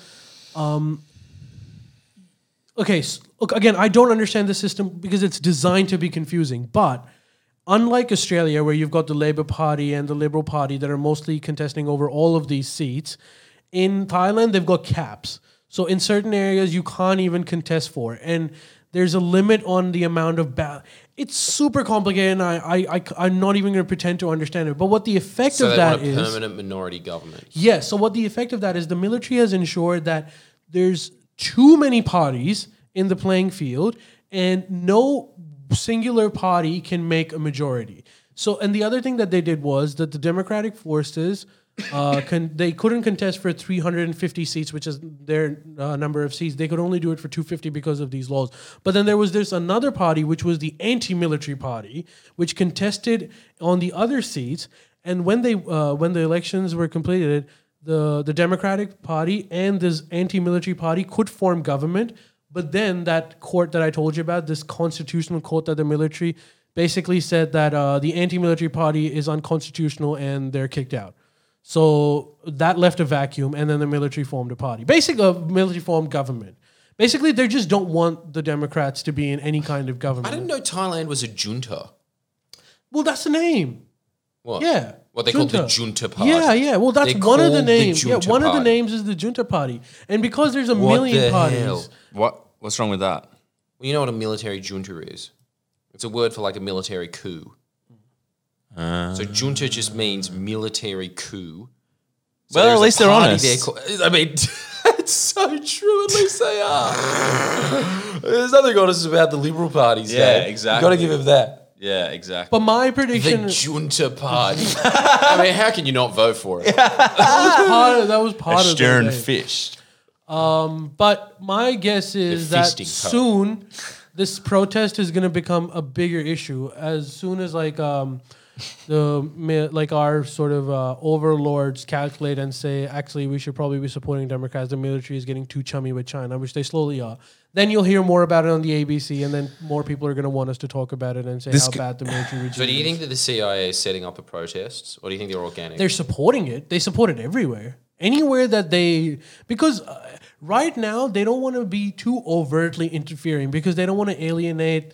[SPEAKER 1] look, again, I don't understand the system because it's designed to be confusing. But unlike Australia, where you've got the Labour Party and the Liberal Party that are mostly contesting over all of these seats, in Thailand they've got caps. So in certain areas you can't even contest for, and there's a limit on the amount of It's super complicated, and I'm not even going to pretend to understand it. But what the effect
[SPEAKER 7] So
[SPEAKER 1] of
[SPEAKER 7] they
[SPEAKER 1] that
[SPEAKER 7] want a
[SPEAKER 1] is...
[SPEAKER 7] permanent minority government.
[SPEAKER 1] Yes. So what the effect of that is, the military has ensured that there's too many parties in the playing field, and no singular party can make a majority. So, and the other thing that they did was that the Democratic forces they couldn't contest for 350 seats, which is their number of seats. They could only do it for 250 because of these laws. But then there was this another party, which was the anti-military party, which contested on the other seats. And when the elections were completed, the Democratic Party and this anti-military party could form government. But then that court that I told you about, this constitutional court that the military basically said that the anti-military party is unconstitutional and they're kicked out. So that left a vacuum, and then the military formed a party. Basically, a military formed government. Basically, they just don't want the Democrats to be in any kind of government.
[SPEAKER 7] I didn't know Thailand was a junta.
[SPEAKER 1] Well, that's the name.
[SPEAKER 7] What?
[SPEAKER 1] Yeah.
[SPEAKER 7] What they call the junta party.
[SPEAKER 1] Yeah. Well, that's
[SPEAKER 7] They're
[SPEAKER 1] one of the
[SPEAKER 7] called the
[SPEAKER 1] names.
[SPEAKER 7] junta
[SPEAKER 1] One of the
[SPEAKER 7] party.
[SPEAKER 1] names is the junta party. And because there's a
[SPEAKER 7] What
[SPEAKER 1] million
[SPEAKER 7] the
[SPEAKER 1] parties.
[SPEAKER 7] hell?
[SPEAKER 3] What's wrong with that?
[SPEAKER 7] Well, you know what a military junta is? It's a word for like a military coup. So junta just means military coup. So
[SPEAKER 3] Well, at
[SPEAKER 7] there's a
[SPEAKER 3] least they're
[SPEAKER 7] party
[SPEAKER 3] honest.
[SPEAKER 7] there I mean, it's so true. At least they are. There's nothing honest about the Liberal parties.
[SPEAKER 3] Yeah,
[SPEAKER 7] Dave.
[SPEAKER 3] exactly.
[SPEAKER 7] You got to give him that.
[SPEAKER 3] Yeah, exactly.
[SPEAKER 1] But my
[SPEAKER 7] The
[SPEAKER 1] prediction
[SPEAKER 7] junta party. I mean, how can you not vote for it?
[SPEAKER 1] that was part
[SPEAKER 3] A
[SPEAKER 1] of
[SPEAKER 3] stern
[SPEAKER 1] the name.
[SPEAKER 3] fish.
[SPEAKER 1] But my guess is
[SPEAKER 7] The
[SPEAKER 1] that
[SPEAKER 7] feasting cup.
[SPEAKER 1] soon this protest is going to become a bigger issue as soon as like our sort of overlords calculate and say, actually, we should probably be supporting Democrats. The military is getting too chummy with China, which they slowly are. Then you'll hear more about it on the ABC, and then more people are going to want us to talk about it and say how bad the military regime is.
[SPEAKER 7] So do you think that the CIA is setting up the protests, or do you think they're organic?
[SPEAKER 1] They're supporting it. They support it everywhere. Anywhere that because right now they don't want to be too overtly interfering because they don't want to alienate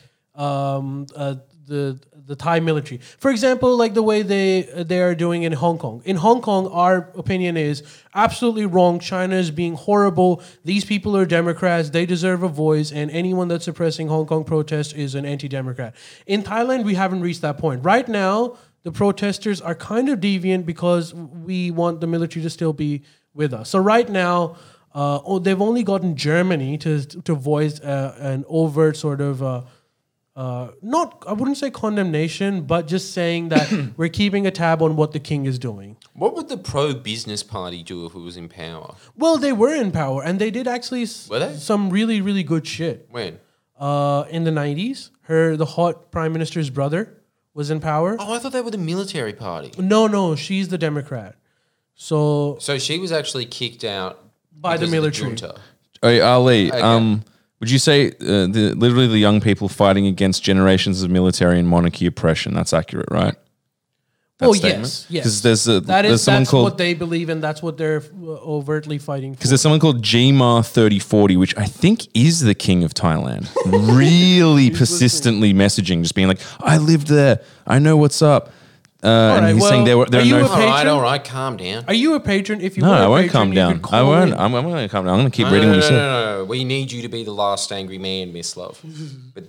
[SPEAKER 1] the Thai military. For example, like the way they are doing in Hong Kong. In Hong Kong, our opinion is absolutely wrong. China is being horrible. These people are Democrats. They deserve a voice, and anyone that's suppressing Hong Kong protests is an anti-Democrat. In Thailand, we haven't reached that point. Right now, the protesters are kind of deviant because we want the military to still be with us. So right now, they've only gotten Germany to voice an overt sort of not, I wouldn't say condemnation, but just saying that we're keeping a tab on what the king is doing.
[SPEAKER 7] What would the pro-business party do if it was in power?
[SPEAKER 1] Well, they were in power, and they did actually
[SPEAKER 7] Were they?
[SPEAKER 1] some really, really good shit.
[SPEAKER 7] When?
[SPEAKER 1] In the 90s, the hot prime minister's brother was in power.
[SPEAKER 7] Oh, I thought they were the military party.
[SPEAKER 1] No, she's the Democrat. So
[SPEAKER 7] So she was actually kicked out
[SPEAKER 1] by the
[SPEAKER 7] because of
[SPEAKER 1] military.
[SPEAKER 7] junta.
[SPEAKER 3] Hey, Ali,
[SPEAKER 7] Okay.
[SPEAKER 3] would you say literally the young people fighting against generations of military and monarchy oppression? That's accurate, right? That
[SPEAKER 1] Oh,
[SPEAKER 3] statement?
[SPEAKER 1] yes.
[SPEAKER 3] Because there's
[SPEAKER 1] That's
[SPEAKER 3] someone called
[SPEAKER 1] what they believe, and that's what they're overtly fighting for.
[SPEAKER 3] because there's someone called GMAR 3040, which I think is the king of Thailand. Really persistently messaging, just being like, "I lived there. I know what's up." And
[SPEAKER 1] right,
[SPEAKER 3] he's saying there
[SPEAKER 1] well,
[SPEAKER 3] are
[SPEAKER 1] are you
[SPEAKER 3] no.
[SPEAKER 1] a patron?
[SPEAKER 7] All right, calm down.
[SPEAKER 1] Are you a patron? If you
[SPEAKER 3] No,
[SPEAKER 1] were
[SPEAKER 3] I
[SPEAKER 1] a
[SPEAKER 3] won't
[SPEAKER 1] patron,
[SPEAKER 3] calm
[SPEAKER 1] you
[SPEAKER 3] down.
[SPEAKER 1] could call
[SPEAKER 3] I won't.
[SPEAKER 1] in.
[SPEAKER 3] I'm going to calm down. I'm going to keep
[SPEAKER 7] No,
[SPEAKER 3] reading
[SPEAKER 7] no,
[SPEAKER 3] what you said.
[SPEAKER 7] no. We need you to be the last angry man, Miss Love. But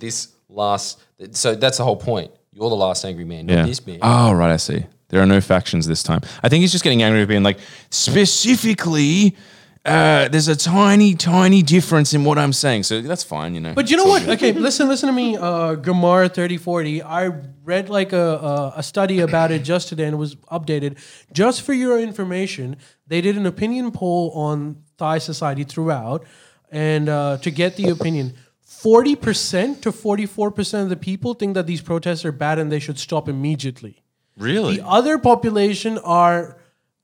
[SPEAKER 7] so that's the whole point. You're the last angry man, not this man.
[SPEAKER 3] Oh, right. I see. There are no factions this time. I think he's just getting angry at being like, specifically, there's a tiny, tiny difference in what I'm saying. So that's fine, you know.
[SPEAKER 1] But you know what? Okay, listen to me. Gamar 3040. I read like a study about it just today, and it was updated. Just for your information, they did an opinion poll on Thai society throughout, and to get the opinion, 40% to 44% of the people think that these protests are bad and they should stop immediately.
[SPEAKER 3] Really?
[SPEAKER 1] The other population are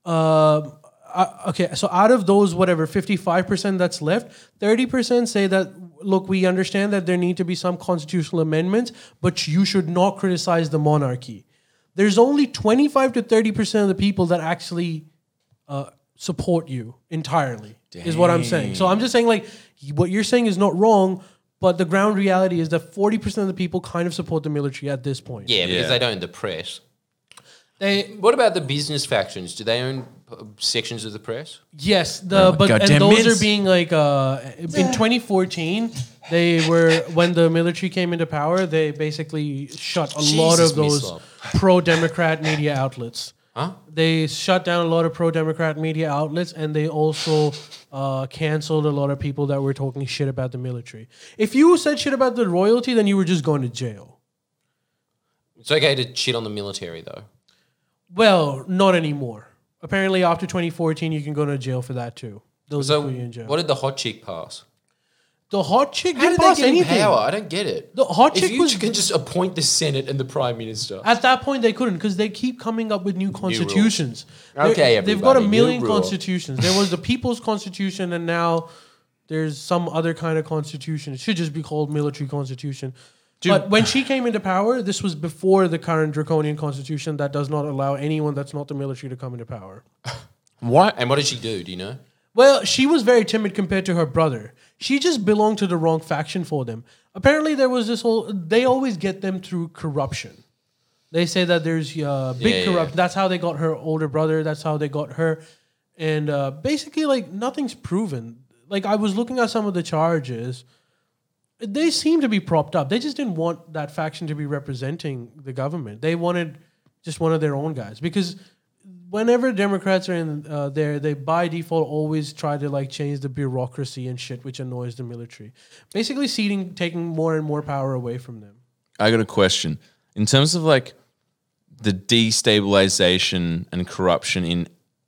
[SPEAKER 1] okay. So out of those, whatever 55% that's left, 30% say that look, we understand that there need to be some constitutional amendments, but you should not criticize the monarchy. There's only 25 to 30% of the people that actually support you entirely. Is what I'm saying. So I'm just saying like what you're saying is not wrong. But the ground reality is that 40% of the people kind of support the military at this point.
[SPEAKER 7] Yeah, because
[SPEAKER 3] Yeah.
[SPEAKER 7] they don't own the press.
[SPEAKER 1] They
[SPEAKER 7] What about the business factions? Do they own sections of the press?
[SPEAKER 1] yes, and
[SPEAKER 3] goddamn
[SPEAKER 1] those
[SPEAKER 3] mints.
[SPEAKER 1] are being like in 2014 they were when the military came into power, they basically shut a lot
[SPEAKER 7] Jesus,
[SPEAKER 1] of those
[SPEAKER 7] Mislav.
[SPEAKER 1] pro-democrat media outlets.
[SPEAKER 7] Huh?
[SPEAKER 1] They shut down a lot of pro-democrat media outlets, and they also canceled a lot of people that were talking shit about the military. If you said shit about the royalty, then you were just going to jail.
[SPEAKER 7] It's okay to shit on the military, though.
[SPEAKER 1] Well, not anymore. Apparently, after 2014, you can go to jail for that too. Those
[SPEAKER 7] So,
[SPEAKER 1] put you in jail.
[SPEAKER 7] what did the hot chick pass?
[SPEAKER 1] The hot chick
[SPEAKER 7] How
[SPEAKER 1] didn't
[SPEAKER 7] did they
[SPEAKER 1] pass
[SPEAKER 7] get in
[SPEAKER 1] anything.
[SPEAKER 7] power? I don't get it.
[SPEAKER 1] The hot
[SPEAKER 7] If
[SPEAKER 1] chick
[SPEAKER 7] you
[SPEAKER 1] was
[SPEAKER 7] can just appoint the Senate and the Prime Minister.
[SPEAKER 1] at that point they couldn't because they keep coming up with new constitutions.
[SPEAKER 7] Okay,
[SPEAKER 1] They've got a
[SPEAKER 7] everybody,
[SPEAKER 1] million
[SPEAKER 7] new rule.
[SPEAKER 1] constitutions. There was the People's Constitution, and now there's some other kind of constitution. It should just be called Military Constitution. But when she came into power, this was before the current draconian constitution that does not allow anyone that's not the military to come into power.
[SPEAKER 3] What?
[SPEAKER 7] And what did she do? Do you know?
[SPEAKER 1] Well, she was very timid compared to her brother. She just belonged to the wrong faction for them. Apparently, there was this whole... They always get them through corruption. They say that there's big corruption. That's how they got her older brother. That's how they got her. And basically, like, nothing's proven. Like, I was looking at some of the charges. They seem to be propped up. They just didn't want that faction to be representing the government. They wanted just one of their own guys. Because whenever Democrats are in there, they by default always try to like change the bureaucracy and shit, which annoys the military. Basically, taking more and more power away from them.
[SPEAKER 3] I got a question. In terms of like the destabilization and corruption in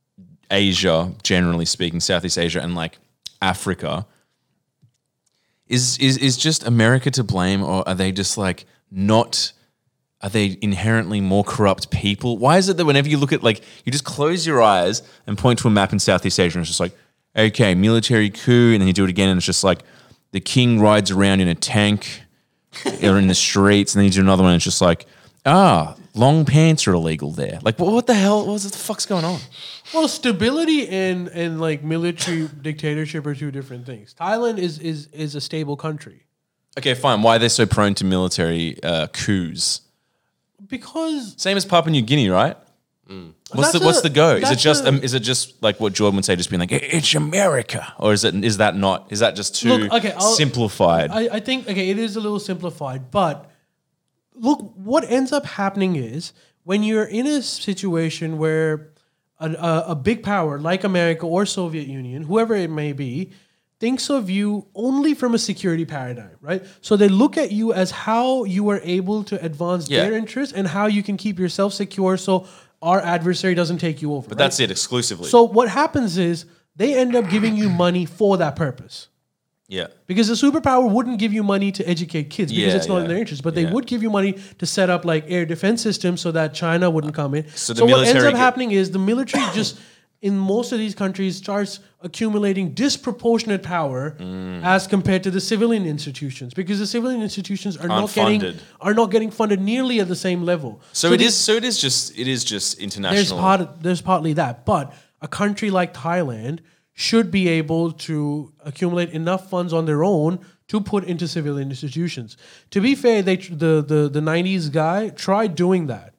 [SPEAKER 3] Asia, generally speaking, Southeast Asia and like Africa, is just America to blame, or are they just like not are they inherently more corrupt people? Why is it that whenever you look at, like, you just close your eyes and point to a map in Southeast Asia and it's just like, okay, military coup, and then you do it again and it's just like the king rides around in a tank or in the streets, and then you do another one and it's just like, long pants are illegal there. Like, what the hell? What the fuck's going on?
[SPEAKER 1] Well, stability and like military dictatorship are two different things. Thailand is a stable country.
[SPEAKER 3] Okay, fine. Why are they so prone to military coups?
[SPEAKER 1] Because
[SPEAKER 3] Same as Papua New Guinea, right? What's the go? Is it just like what Jordan would say, just being like, it's America, or is that just too simplified?
[SPEAKER 1] I think it is a little simplified, but look, what ends up happening is when you're in a situation where a big power like America or Soviet Union, whoever it may be, thinks of you only from a security paradigm, right? So they look at you as how you are able to advance their interests and how you can keep yourself secure so our adversary doesn't take you over.
[SPEAKER 3] But that's it exclusively.
[SPEAKER 1] So what happens is they end up giving you money for that purpose.
[SPEAKER 3] Yeah.
[SPEAKER 1] Because the superpower wouldn't give you money to educate kids because it's not in their interest. But they would give you money to set up like air defense systems so that China wouldn't come in. So what ends up happening is the military just, in most of these countries, starts accumulating disproportionate power as compared to the civilian institutions, because the civilian institutions are not getting funded nearly at the same level.
[SPEAKER 3] So it is just international.
[SPEAKER 1] There's partly that, but a country like Thailand should be able to accumulate enough funds on their own to put into civilian institutions. To be fair, the 90s guy tried doing that.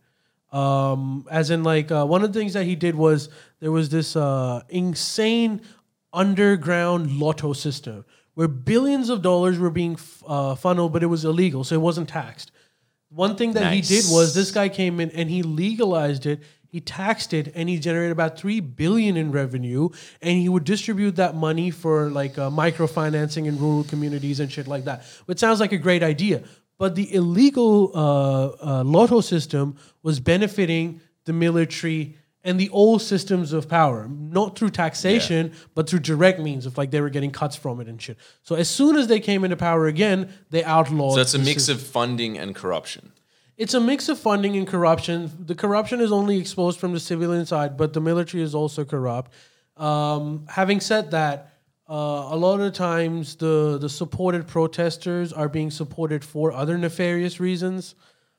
[SPEAKER 1] As in, like, one of the things that he did was there was this insane underground lotto system where billions of dollars were being funneled, but it was illegal, so it wasn't taxed. One thing that he did was this guy came in and he legalized it. He taxed it, and he generated about $3 billion in revenue, and he would distribute that money for like microfinancing in rural communities and shit like that. Which sounds like a great idea, but the illegal lotto system was benefiting the military and the old systems of power, not through taxation, but through direct means of like they were getting cuts from it and shit. So as soon as they came into power again, they outlawed.
[SPEAKER 3] So it's a mix of funding and corruption.
[SPEAKER 1] It's a mix of funding and corruption. The corruption is only exposed from the civilian side, but the military is also corrupt. Having said that, a lot of the times the supported protesters are being supported for other nefarious reasons,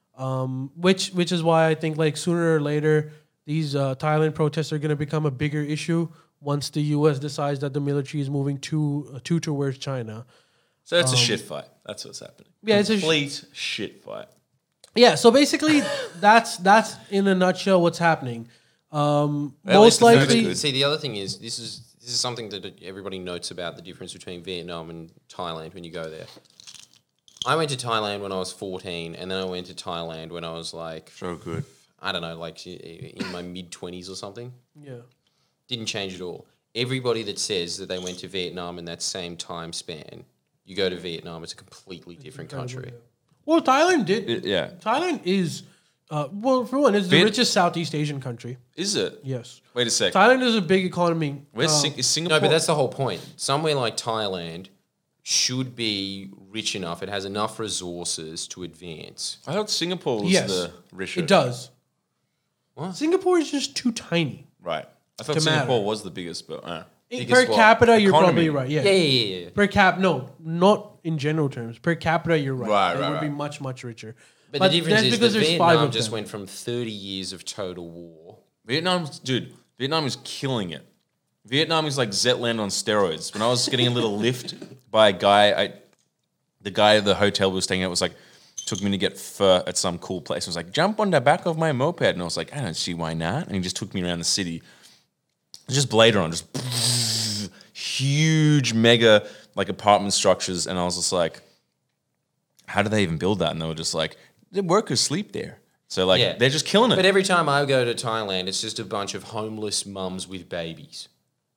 [SPEAKER 1] which is why I think like sooner or later these Thailand protests are going to become a bigger issue once the U.S. decides that the military is moving towards China.
[SPEAKER 3] So it's a shit fight. That's what's happening.
[SPEAKER 1] Yeah,
[SPEAKER 3] it's a complete shit fight.
[SPEAKER 1] Yeah, so basically, that's in a nutshell what's happening. Most likely,
[SPEAKER 7] see, the other thing is this is something that everybody notes about the difference between Vietnam and Thailand when you go there. I went to Thailand when I was 14, and then I went to Thailand when I was like,
[SPEAKER 3] so good.
[SPEAKER 7] I don't know, like in my mid-20s or something.
[SPEAKER 1] Yeah,
[SPEAKER 7] didn't change at all. Everybody that says that they went to Vietnam in that same time span, you go to Vietnam, it's a completely different country.
[SPEAKER 1] Yeah. Well, Thailand did. Thailand is, for one, it's the richest Southeast Asian country.
[SPEAKER 3] Is it?
[SPEAKER 1] Yes.
[SPEAKER 3] Wait a sec.
[SPEAKER 1] Thailand is a big economy.
[SPEAKER 3] Is Singapore?
[SPEAKER 7] No, but that's the whole point. Somewhere like Thailand should be rich enough. It has enough resources to advance.
[SPEAKER 3] I thought Singapore was the richest.
[SPEAKER 1] It does.
[SPEAKER 7] What?
[SPEAKER 1] Singapore is just too tiny.
[SPEAKER 3] Right. I thought Singapore was the biggest, but...
[SPEAKER 1] Per capita, you're probably right. Yeah.
[SPEAKER 7] Yeah.
[SPEAKER 1] Per cap, no, not in general terms. Per capita, you're right. It would be much, much richer.
[SPEAKER 7] But the difference is that Vietnam just went from 30 years of total war.
[SPEAKER 3] Vietnam is killing it. Vietnam is like Zetland on steroids. When I was getting a little lift by a guy, the guy at the hotel we were staying at was like, took me to get pho at some cool place. I was like, jump on the back of my moped. And I was like, I don't see why not. And he just took me around the city. Just Blade Runner, just huge, mega like apartment structures, and I was just like, "How do they even build that?" And they were just like, "The workers sleep there." So like, they're just killing it.
[SPEAKER 7] But every time I go to Thailand, it's just a bunch of homeless mums with babies.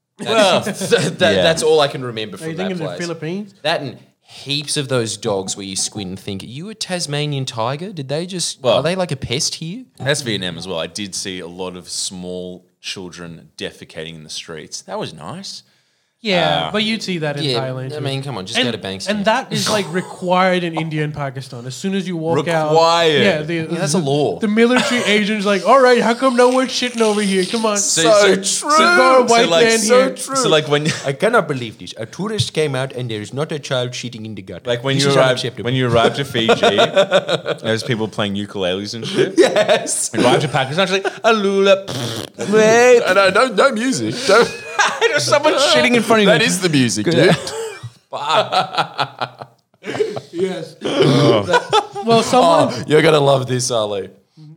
[SPEAKER 7] That's all I can remember from that place. Are you thinking
[SPEAKER 1] of the Philippines?
[SPEAKER 7] That and heaps of those dogs where you squint and think, "Are you a Tasmanian tiger? Did they just? Are they like a pest here?"
[SPEAKER 3] That's Vietnam as well. I did see a lot of small children defecating in the streets. That was nice.
[SPEAKER 1] Yeah, but you'd see that in
[SPEAKER 7] Yeah,
[SPEAKER 1] Thailand.
[SPEAKER 7] I
[SPEAKER 1] too.
[SPEAKER 7] mean, come on, just go to Bankstown.
[SPEAKER 1] And that is like required in India and Pakistan. As soon as you walk out,
[SPEAKER 3] Required.
[SPEAKER 7] that's a law.
[SPEAKER 1] The military agent's like, all right, how come no one's shitting over here? Come on.
[SPEAKER 2] So true.
[SPEAKER 1] So white man here.
[SPEAKER 3] So like when
[SPEAKER 2] I cannot believe this. A tourist came out and there is not a child shitting in the gutter.
[SPEAKER 3] like when
[SPEAKER 2] This
[SPEAKER 3] you
[SPEAKER 2] is
[SPEAKER 3] arrived
[SPEAKER 2] unacceptable.
[SPEAKER 3] when you arrived to Fiji, there's people playing ukuleles and shit.
[SPEAKER 2] Yes.
[SPEAKER 3] You arrived to Pakistan, it's like alula.
[SPEAKER 2] Wait. No music. Don't.
[SPEAKER 3] There's someone shitting in front of you.
[SPEAKER 2] That is the music, dude.
[SPEAKER 1] Yes. Well, someone.
[SPEAKER 7] Oh, you're gonna love this, Ali.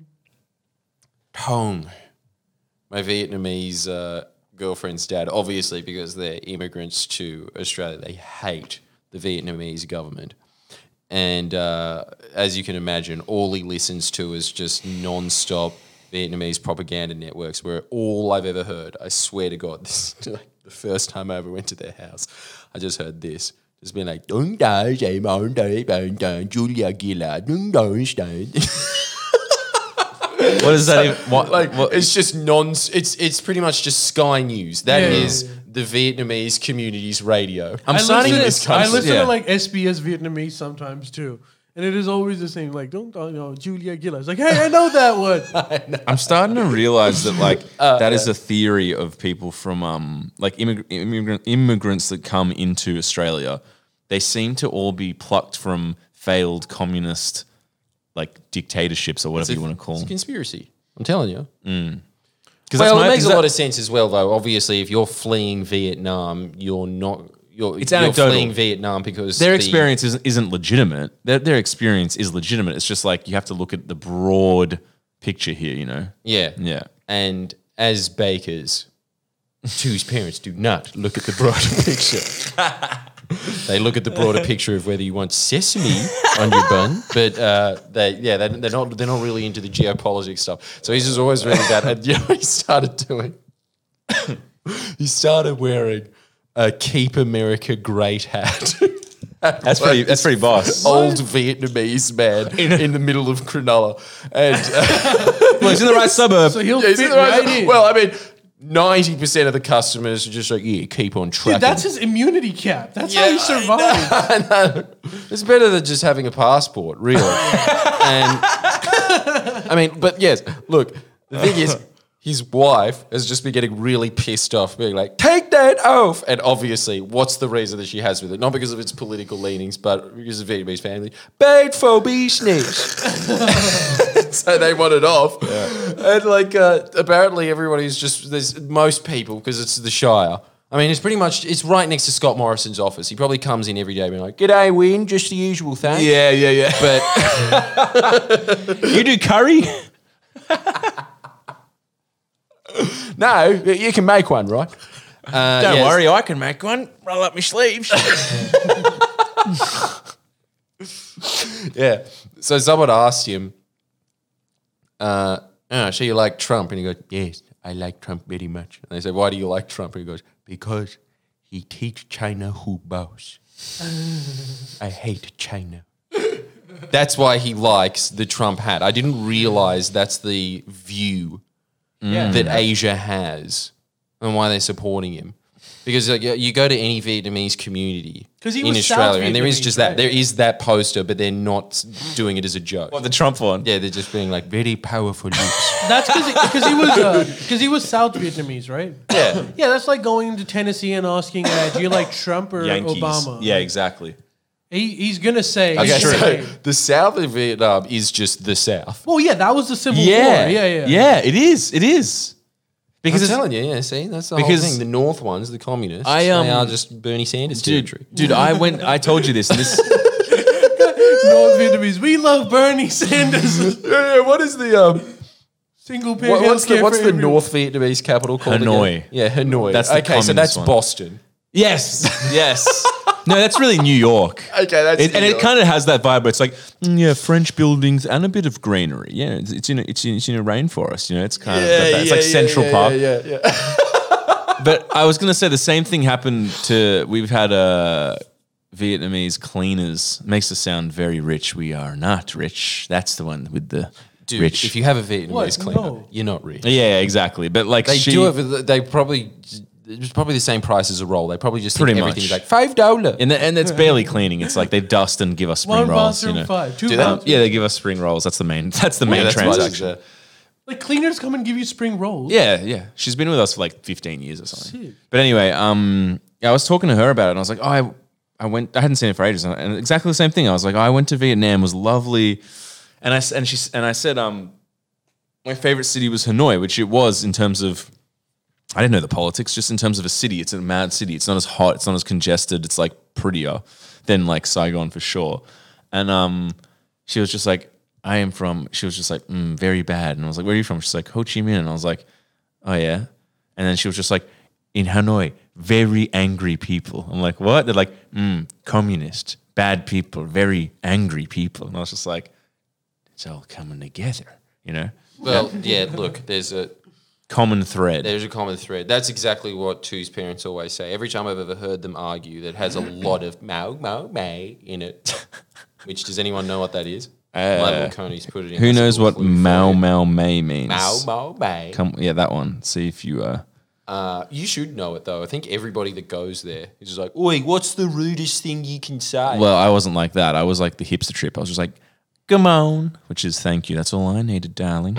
[SPEAKER 7] Tong, my Vietnamese girlfriend's dad, obviously because they're immigrants to Australia, they hate the Vietnamese government. And as you can imagine, all he listens to is just non-stop Vietnamese propaganda networks where all I've ever heard, I swear to God, this is like the first time I ever went to their house, I just heard this. Just being like, Julia Gillard,
[SPEAKER 3] What is that? Even, what?
[SPEAKER 7] it's just it's pretty much just Sky News. That is
[SPEAKER 1] Yeah.
[SPEAKER 7] the Vietnamese community's radio.
[SPEAKER 3] I'm
[SPEAKER 1] I
[SPEAKER 3] starting
[SPEAKER 1] listen,
[SPEAKER 3] to.
[SPEAKER 1] I listen
[SPEAKER 3] yeah.
[SPEAKER 1] to like SBS Vietnamese sometimes too. And it is always the same, like, don't know, Julia Gillard. It's like, hey, I know that one.
[SPEAKER 3] I'm starting to realize that like that is a theory of people from like immigrants that come into Australia. They seem to all be plucked from failed communist like dictatorships or whatever you want to call
[SPEAKER 7] It's a
[SPEAKER 3] them.
[SPEAKER 7] conspiracy. I'm telling you.
[SPEAKER 3] Well,
[SPEAKER 7] Well, it makes a lot of sense as well, though. Obviously, if you're fleeing Vietnam, you're
[SPEAKER 3] anecdotal.
[SPEAKER 7] fleeing Vietnam because
[SPEAKER 3] their experience isn't legitimate. Their experience is legitimate. It's just like you have to look at the broad picture here, you know?
[SPEAKER 7] Yeah.
[SPEAKER 3] Yeah.
[SPEAKER 7] And as bakers, whose parents do not look at the broader picture. They look at the broader picture of whether you want sesame on your bun, but they're not really into the geopolitics stuff. So he's just always really that. And you know what he started doing? He started wearing a "Keep America Great" hat.
[SPEAKER 3] That's pretty boss.
[SPEAKER 7] Old Vietnamese man in the middle of Cronulla, and
[SPEAKER 3] Well, he's in the right suburb.
[SPEAKER 1] So he'll
[SPEAKER 7] he's
[SPEAKER 1] fit
[SPEAKER 7] in the right-
[SPEAKER 1] right in.
[SPEAKER 7] well, I mean, 90% of the customers are just like, yeah, keep on tracking.
[SPEAKER 1] Dude, that's his immunity cap. That's how he survived.
[SPEAKER 7] I know. It's better than just having a passport, really. And I mean, but yes, look, the thing is, his wife has just been getting really pissed off, being like, take that off. And obviously, what's the reason that she has with it? Not because of its political leanings, but because of Vietnamese family. Bad for business. So they want it off. And like, apparently everybody's just, there's most people, because it's the Shire. I mean, it's right next to Scott Morrison's office. He probably comes in every day being like, g'day, Win, just the usual thing.
[SPEAKER 3] Yeah.
[SPEAKER 7] But
[SPEAKER 3] You do curry?
[SPEAKER 7] no, you can make one, right?
[SPEAKER 3] Don't worry, I can make one. Roll up my sleeves.
[SPEAKER 7] Yeah. So someone asked him, so you like Trump? And he goes, yes, I like Trump very much. And they say, why do you like Trump? And he goes, because he teach China who boss. I hate China. That's why he likes the Trump hat. I didn't realize that's the view that Asia has and why they're supporting him. Because like, you go to any Vietnamese community
[SPEAKER 1] 'Cause he
[SPEAKER 7] in
[SPEAKER 1] was
[SPEAKER 7] Australia,
[SPEAKER 1] South
[SPEAKER 7] and there is
[SPEAKER 1] Vietnamese,
[SPEAKER 7] just
[SPEAKER 1] right?
[SPEAKER 7] that. There is that poster, but they're not doing it as a joke.
[SPEAKER 3] What, the Trump one?
[SPEAKER 7] Yeah, they're just being like very powerful lips.
[SPEAKER 1] That's because he was South Vietnamese, right?
[SPEAKER 7] Yeah.
[SPEAKER 1] Yeah, that's like going to Tennessee and asking, do you like Trump or
[SPEAKER 3] Yankees.
[SPEAKER 1] Obama?
[SPEAKER 3] Yeah, exactly.
[SPEAKER 1] He's gonna say.
[SPEAKER 7] Okay,
[SPEAKER 1] he's gonna
[SPEAKER 7] so
[SPEAKER 1] say-
[SPEAKER 7] the South of Vietnam is just the South.
[SPEAKER 1] well, yeah, that was the Civil
[SPEAKER 3] Yeah.
[SPEAKER 1] War. Yeah.
[SPEAKER 3] Yeah, it is. Because
[SPEAKER 7] I'm
[SPEAKER 3] it's,
[SPEAKER 7] telling you, yeah, see, that's the whole
[SPEAKER 3] Because
[SPEAKER 7] thing. The North ones, the communists,
[SPEAKER 3] I,
[SPEAKER 7] they are just Bernie Sanders territory.
[SPEAKER 3] dude, I told you this, and this
[SPEAKER 1] North Vietnamese. We love Bernie Sanders.
[SPEAKER 7] Yeah, what is the
[SPEAKER 1] Single payer
[SPEAKER 7] what's the
[SPEAKER 1] healthcare for everyone.
[SPEAKER 7] North Vietnamese capital called?
[SPEAKER 3] Hanoi.
[SPEAKER 7] Again? Yeah, Hanoi.
[SPEAKER 3] That's the
[SPEAKER 7] okay, so that's
[SPEAKER 3] communist one.
[SPEAKER 7] Boston.
[SPEAKER 3] Yes. No, that's really New York.
[SPEAKER 7] Okay, that's
[SPEAKER 3] And
[SPEAKER 7] New
[SPEAKER 3] it
[SPEAKER 7] York.
[SPEAKER 3] kind of has that vibe where it's like, French buildings and a bit of greenery. Yeah, it's in a rainforest. You know, it's kind of it's like Central Park.
[SPEAKER 7] Yeah.
[SPEAKER 3] But I was gonna say the same thing happened to. We've had Vietnamese cleaners. Makes us sound very rich. We are not rich. That's the one with the
[SPEAKER 7] Dude,
[SPEAKER 3] rich.
[SPEAKER 7] if you have a Vietnamese
[SPEAKER 1] What?
[SPEAKER 7] cleaner,
[SPEAKER 1] No.
[SPEAKER 7] you're not rich.
[SPEAKER 3] Yeah, exactly. But like
[SPEAKER 7] They
[SPEAKER 3] she,
[SPEAKER 7] do have. They probably it's probably the same price as a roll. They probably just
[SPEAKER 3] Pretty
[SPEAKER 7] think everything's
[SPEAKER 3] much.
[SPEAKER 7] like $5.
[SPEAKER 3] And it's barely cleaning. It's like they dust and give us spring
[SPEAKER 1] One
[SPEAKER 3] rolls.
[SPEAKER 1] bathroom, 5. 2
[SPEAKER 7] Do they?
[SPEAKER 1] bathrooms.
[SPEAKER 3] Yeah, they give us spring rolls. That's the main. That's the main
[SPEAKER 7] that's why
[SPEAKER 3] transaction.
[SPEAKER 7] there's
[SPEAKER 1] Like cleaners come and give you spring rolls.
[SPEAKER 3] Yeah. She's been with us for like 15 years or something.
[SPEAKER 1] Sick.
[SPEAKER 3] But anyway, yeah, I was talking to her about it, and I was like, oh, I went. I hadn't seen it for ages, and exactly the same thing. I was like, oh, I went to Vietnam, it was lovely, and I said, my favorite city was Hanoi, which it was in terms of. I didn't know the politics, just in terms of a city. It's a mad city. It's not as hot. It's not as congested. It's like prettier than like Saigon for sure. And she was just like, she was just like, very bad. And I was like, where are you from? She's like, Ho Chi Minh. And I was like, oh yeah. And then she was just like, in Hanoi, very angry people. I'm like, what? They're like, communist, bad people, very angry people. And I was just like, it's all coming together, you know?
[SPEAKER 7] Well, yeah, look, there's a
[SPEAKER 3] Common thread.
[SPEAKER 7] There's a common thread. That's exactly what Tu's parents always say. Every time I've ever heard them argue, that has a lot of Mao May in it. Which, does anyone know what that is? Michael Coney's put it in.
[SPEAKER 3] Who knows what
[SPEAKER 7] Clue for you.
[SPEAKER 3] Mao May means?
[SPEAKER 7] Mao May.
[SPEAKER 3] Yeah, that one. See if you...
[SPEAKER 7] You should know it, though. I think everybody that goes there is just like, oi, what's the rudest thing you can say?
[SPEAKER 3] Well, I wasn't like that. I was like the hipster trip. I was just like, come on, which is thank you. That's all I needed, darling.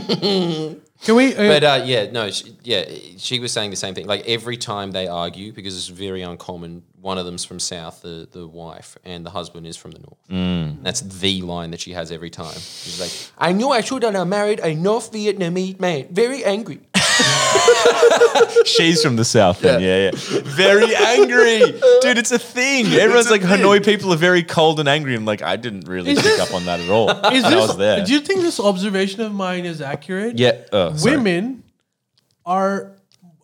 [SPEAKER 1] Can we?
[SPEAKER 7] But she was saying the same thing. Like every time they argue, because it's very uncommon, one of them's from south, the wife, and the husband is from the north. That's the line that she has every time. She's like, I knew I should have married a North Vietnamese man. Very angry.
[SPEAKER 3] She's from the south then, yeah. Very angry. Dude, it's a thing. Everyone's like, Hanoi people are very cold and angry. I'm like, I didn't really pick up on that at all.
[SPEAKER 1] Is
[SPEAKER 3] I
[SPEAKER 1] this,
[SPEAKER 3] was there.
[SPEAKER 1] do you think this observation of mine is accurate?
[SPEAKER 3] Yeah. Sorry.
[SPEAKER 1] Women are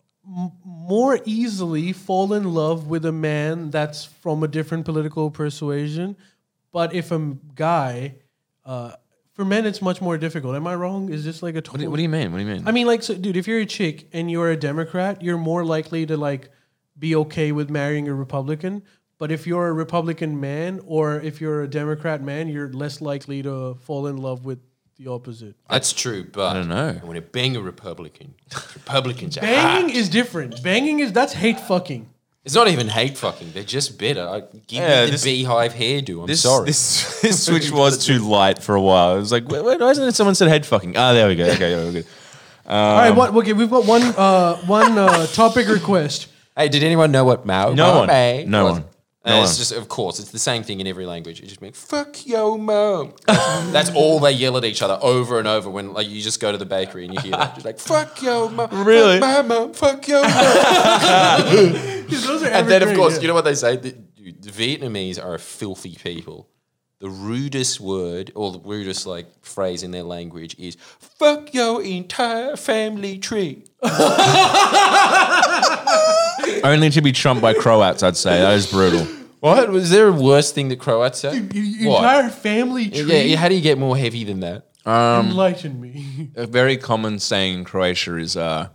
[SPEAKER 1] more easily fall in love with a man that's from a different political persuasion. But if a guy, for men, it's much more difficult. Am I wrong? Is this like a total...
[SPEAKER 3] What do you mean? What do you mean?
[SPEAKER 1] I mean, like, so, dude, if you're a chick and you're a Democrat, you're more likely to like be okay with marrying a Republican. But if you're a Republican man or if you're a Democrat man, you're less likely to fall in love with the opposite.
[SPEAKER 7] That's true, but
[SPEAKER 3] I don't know.
[SPEAKER 7] When you bang a Republican, Republicans are
[SPEAKER 1] Banging
[SPEAKER 7] hot.
[SPEAKER 1] is different. That's hate fucking.
[SPEAKER 7] It's not even hate fucking. They're just better. Give
[SPEAKER 3] Yeah,
[SPEAKER 7] me the
[SPEAKER 3] this-
[SPEAKER 7] beehive hairdo. I'm sorry.
[SPEAKER 3] This switch was too light for a while. It was like, why isn't it someone said head fucking? Ah, there we go. Okay, yeah, we're good.
[SPEAKER 1] All right, okay, we've got one topic request.
[SPEAKER 7] Hey, did anyone know what Mao?
[SPEAKER 3] No
[SPEAKER 7] Mao
[SPEAKER 3] one.
[SPEAKER 7] May
[SPEAKER 3] No
[SPEAKER 7] was?
[SPEAKER 3] one. No
[SPEAKER 7] It's
[SPEAKER 3] one.
[SPEAKER 7] just, of course, it's the same thing in every language. It just means "fuck yo mom." That's all they yell at each other over and over when, like, you just go to the bakery and you hear that, just like "fuck yo mom,"
[SPEAKER 3] Really?
[SPEAKER 7] "fuck my mom," "fuck yo mom."
[SPEAKER 1] Those are
[SPEAKER 7] And then, of
[SPEAKER 1] evergreen,
[SPEAKER 7] course,
[SPEAKER 1] yeah.
[SPEAKER 7] you know what they say? The Vietnamese are filthy people. The rudest word or the rudest like phrase in their language is "fuck your entire family tree."
[SPEAKER 3] Only to be trumped by Croats, I'd say. That is brutal.
[SPEAKER 7] What was there a worse thing that Croats say?
[SPEAKER 1] Your
[SPEAKER 7] What?
[SPEAKER 1] entire family tree.
[SPEAKER 7] Yeah, how do you get more heavy than that?
[SPEAKER 1] Enlighten me.
[SPEAKER 3] A very common saying in Croatia is, go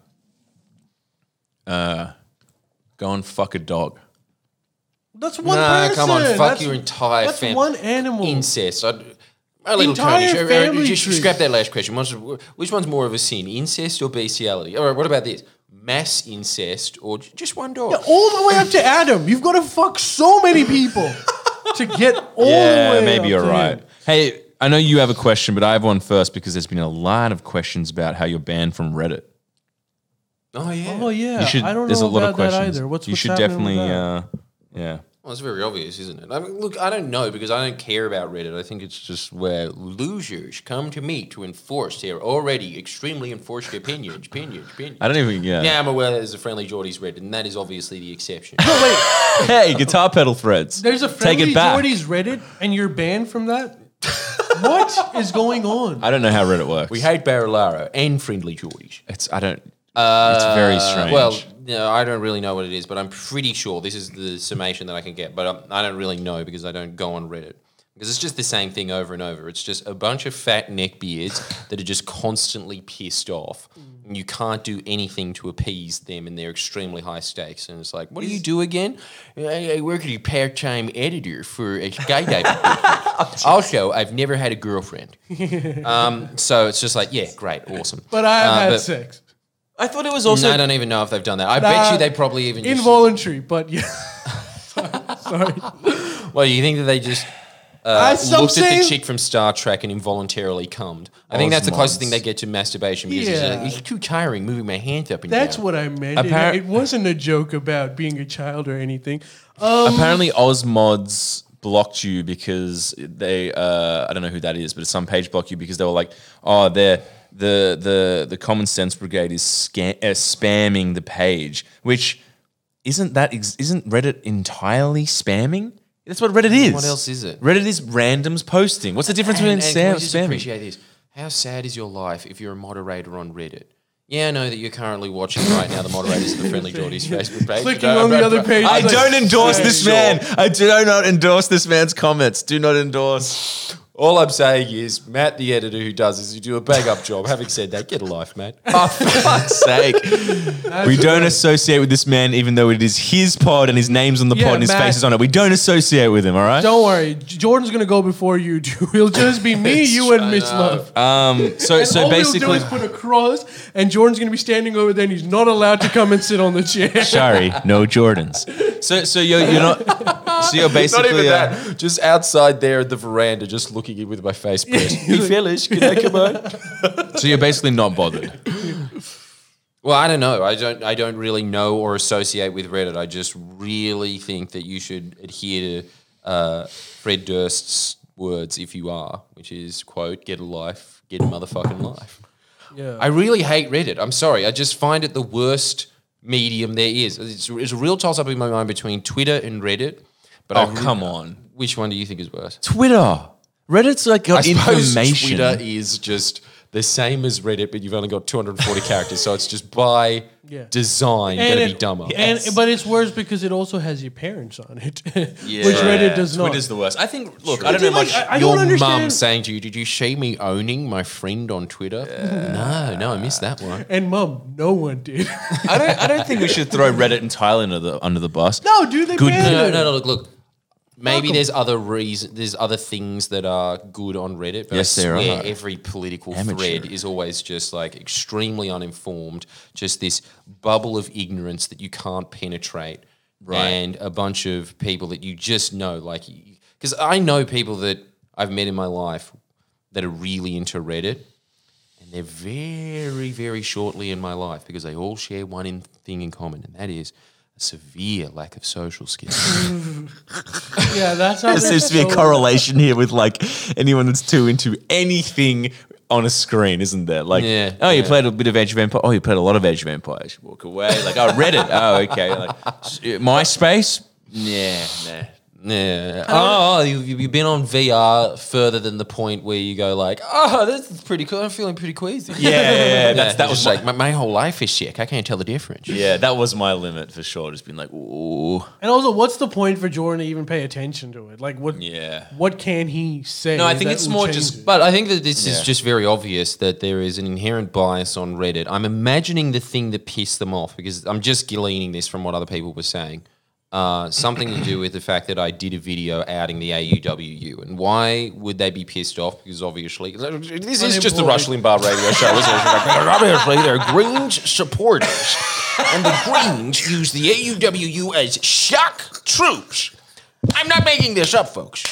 [SPEAKER 3] and fuck a dog.
[SPEAKER 1] That's one
[SPEAKER 7] Nah,
[SPEAKER 1] person.
[SPEAKER 7] come on, fuck
[SPEAKER 1] That's-
[SPEAKER 7] your entire
[SPEAKER 1] That's
[SPEAKER 7] family.
[SPEAKER 1] one animal.
[SPEAKER 7] Incest. A little
[SPEAKER 1] Entire
[SPEAKER 7] Tony,
[SPEAKER 1] family
[SPEAKER 7] just
[SPEAKER 1] tree.
[SPEAKER 7] scrap that last question. Which one's more of a sin, incest or bestiality? All right, what about this? Mass incest or just one dog?
[SPEAKER 1] Yeah, all the way up to Adam. You've got to fuck so many people to get all the
[SPEAKER 3] Yeah,
[SPEAKER 1] way
[SPEAKER 3] maybe
[SPEAKER 1] up
[SPEAKER 3] you're
[SPEAKER 1] to
[SPEAKER 3] right.
[SPEAKER 1] him.
[SPEAKER 3] Hey, I know you have a question, but I have one first because there's been a lot of questions about how you're banned from Reddit.
[SPEAKER 7] Oh, yeah.
[SPEAKER 1] Oh yeah,
[SPEAKER 3] You should.
[SPEAKER 1] I don't
[SPEAKER 3] There's
[SPEAKER 1] know
[SPEAKER 3] a lot
[SPEAKER 1] about
[SPEAKER 3] of questions.
[SPEAKER 1] that either. What's
[SPEAKER 3] you should
[SPEAKER 1] happening with
[SPEAKER 3] definitely.
[SPEAKER 1] that?
[SPEAKER 3] Yeah.
[SPEAKER 7] Well, it's very obvious, isn't it? I mean, look, I don't know because I don't care about Reddit. I think it's just where losers come to me to enforce their already extremely enforced opinions.
[SPEAKER 3] I don't even. Yeah.
[SPEAKER 7] Yeah, I'm aware there's a Friendly Geordies Reddit, and that is obviously the exception.
[SPEAKER 3] Hey, guitar pedal threads.
[SPEAKER 1] There's a
[SPEAKER 3] Take
[SPEAKER 1] Friendly
[SPEAKER 3] it back.
[SPEAKER 1] Geordies Reddit, and you're banned from that. What is going on?
[SPEAKER 3] I don't know how Reddit works.
[SPEAKER 7] We hate Barilaro and Friendly Geordies.
[SPEAKER 3] It's. I don't. It's very strange.
[SPEAKER 7] Well, no, I don't really know what it is, but I'm pretty sure this is the summation that I can get. But I don't really know because I don't go on Reddit. Because it's just the same thing over and over. It's just a bunch of fat neckbeards that are just constantly pissed off. And you can't do anything to appease them and their extremely high stakes. And it's like, what do you do again? I work as a part-time editor for a skydiving. Also, I've never had a girlfriend. So it's just like, yeah, great, awesome.
[SPEAKER 1] But I have had
[SPEAKER 7] but-
[SPEAKER 1] sex.
[SPEAKER 3] I thought it was also.
[SPEAKER 7] No, I don't even know if they've done that. I bet you they probably even just.
[SPEAKER 1] Involuntary, but yeah. Sorry.
[SPEAKER 7] Well, you think that they just looked at the chick from Star Trek and involuntarily cummed? I think that's the closest thing they get to masturbation because it's too tiring moving my hands up and down.
[SPEAKER 1] That's what I meant. It wasn't a joke about being a child or anything.
[SPEAKER 3] Apparently, Ozmods blocked you because they. I don't know who that is, but some page blocked you because they were like, "Oh, the Common Sense Brigade is spamming the page," which isn't Reddit entirely spamming? That's what Reddit is.
[SPEAKER 7] What else is it?
[SPEAKER 3] Reddit is randoms posting. What's the difference between
[SPEAKER 7] can we just
[SPEAKER 3] spamming?
[SPEAKER 7] appreciate this? How sad is your life if you're a moderator on Reddit? Yeah, I know that you're currently watching right now the moderators of the Friendly Geordies Facebook page.
[SPEAKER 1] Clicking on the other page.
[SPEAKER 3] I don't endorse this man. I do not endorse this man's comments. Do not endorse.
[SPEAKER 7] All I'm saying is, Matt, the editor who does this, you do a bang up job. Having said that, get a life, mate.
[SPEAKER 3] Oh, for fuck's sake. We don't associate with this man, even though it is his pod and his name's on the pod and his face is on it. We don't associate with him, all right?
[SPEAKER 1] Don't worry. Jordan's going to go before you do. It'll just be me, you, and Mitch Love.
[SPEAKER 3] So
[SPEAKER 1] all
[SPEAKER 3] basically...
[SPEAKER 1] we'll do is put a cross, and Jordan's going to be standing over there, and he's not allowed to come and sit on the chair.
[SPEAKER 3] Sorry, no Jordans. So you're not... So you're basically...
[SPEAKER 7] Not even that. Just outside there at the veranda, just looking in with my face pressed. Hey, fellas, can I come on?
[SPEAKER 3] So you're basically not bothered.
[SPEAKER 7] Well, I don't know. I don't really know or associate with Reddit. I just really think that you should adhere to Fred Durst's words if you are, which is, quote, get a life, get a motherfucking life.
[SPEAKER 1] Yeah.
[SPEAKER 7] I really hate Reddit. I'm sorry. I just find it the worst medium there is. It's a real toss-up in my mind between Twitter and Reddit. But
[SPEAKER 3] come on.
[SPEAKER 7] Which one do you think is worse?
[SPEAKER 3] Twitter. Reddit's like got information.
[SPEAKER 7] Twitter is just the same as Reddit, but you've only got 240 characters, so it's just by design going to be dumber.
[SPEAKER 1] But it's worse because it also has your parents on it, which Reddit does not.
[SPEAKER 3] Twitter's the worst. I think. Look,
[SPEAKER 7] True.
[SPEAKER 3] I don't know much.
[SPEAKER 1] I don't understand.
[SPEAKER 7] Mum saying to you, "Did you see me owning my friend on Twitter?" No, I missed that one.
[SPEAKER 1] And Mum, no one did.
[SPEAKER 3] I don't think we should throw Reddit entirely under the bus.
[SPEAKER 1] No, dude, they banned it.
[SPEAKER 7] No. Look. Maybe there's other there's other things that are good on Reddit, but
[SPEAKER 3] yes,
[SPEAKER 7] I
[SPEAKER 3] there
[SPEAKER 7] swear
[SPEAKER 3] are.
[SPEAKER 7] every political thread is always just like extremely uninformed, just this bubble of ignorance that you can't penetrate, and a bunch of people that you just know, like, because I know people that I've met in my life that are really into Reddit, and they're very, very shortly in my life because they all share one thing in common, and that is a severe lack of social skills.
[SPEAKER 1] Yeah, that's how
[SPEAKER 3] There seems to be a correlation here with like anyone that's too into anything on a screen, isn't there? Like, you played a bit of Age of Empires. Oh, you played a lot of Age of Empires. Walk away. Like, Reddit. Oh, okay. Like, MySpace? Nah.
[SPEAKER 7] Yeah. You've been on VR further than the point where you go like, this is pretty cool. I'm feeling pretty queasy.
[SPEAKER 3] Yeah.
[SPEAKER 7] That was like my whole life is sick. I can't tell the difference.
[SPEAKER 3] Yeah, that was my limit for sure. Just being like, ooh.
[SPEAKER 1] And also, what's the point for Jordan to even pay attention to it? Like, what can he say?
[SPEAKER 7] No, I think
[SPEAKER 1] that
[SPEAKER 7] it's
[SPEAKER 1] will
[SPEAKER 7] more
[SPEAKER 1] change
[SPEAKER 7] just.
[SPEAKER 1] it?
[SPEAKER 7] But I think that this is just very obvious that there is an inherent bias on Reddit. I'm imagining the thing that pissed them off because I'm just gleaning this from what other people were saying. Something to do with the fact that I did a video outing the AUWU. And why would they be pissed off? Because obviously, this is just the Rush Limbaugh radio show, isn't it? Obviously, they're Greens supporters. And the Greens use the AUWU as shock troops. I'm not making this up, folks.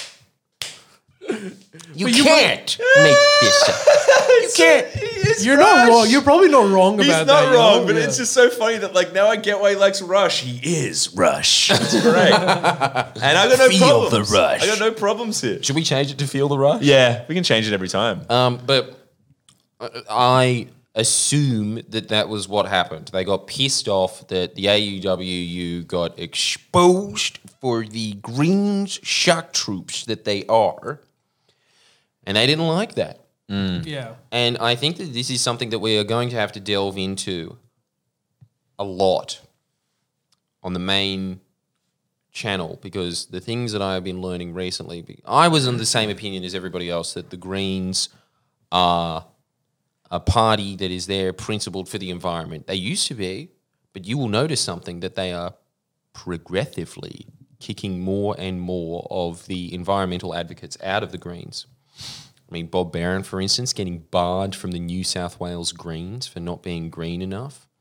[SPEAKER 7] You can't make this up. You can't.
[SPEAKER 1] You're not wrong. You're probably not wrong about that.
[SPEAKER 3] He's not
[SPEAKER 1] you know?
[SPEAKER 3] wrong, but it's just so funny that like now I get why he likes Rush. He is Rush. That's great. And I got no
[SPEAKER 7] Feel
[SPEAKER 3] problems.
[SPEAKER 7] the rush.
[SPEAKER 3] I got no problems here.
[SPEAKER 7] Should we change it to Feel the Rush?
[SPEAKER 3] Yeah, we can change it every time.
[SPEAKER 7] But I assume that was what happened. They got pissed off that the AUWU got exposed for the Greens shock troops that they are, and they didn't like that.
[SPEAKER 1] Yeah.
[SPEAKER 7] And I think that this is something that we are going to have to delve into a lot on the main channel, because the things that I have been learning recently, I was in the same opinion as everybody else that the Greens are a party that is there principled for the environment. They used to be, but you will notice something, that they are progressively kicking more and more of the environmental advocates out of the Greens. I mean, Bob Barron, for instance, getting barred from the New South Wales Greens for not being green enough.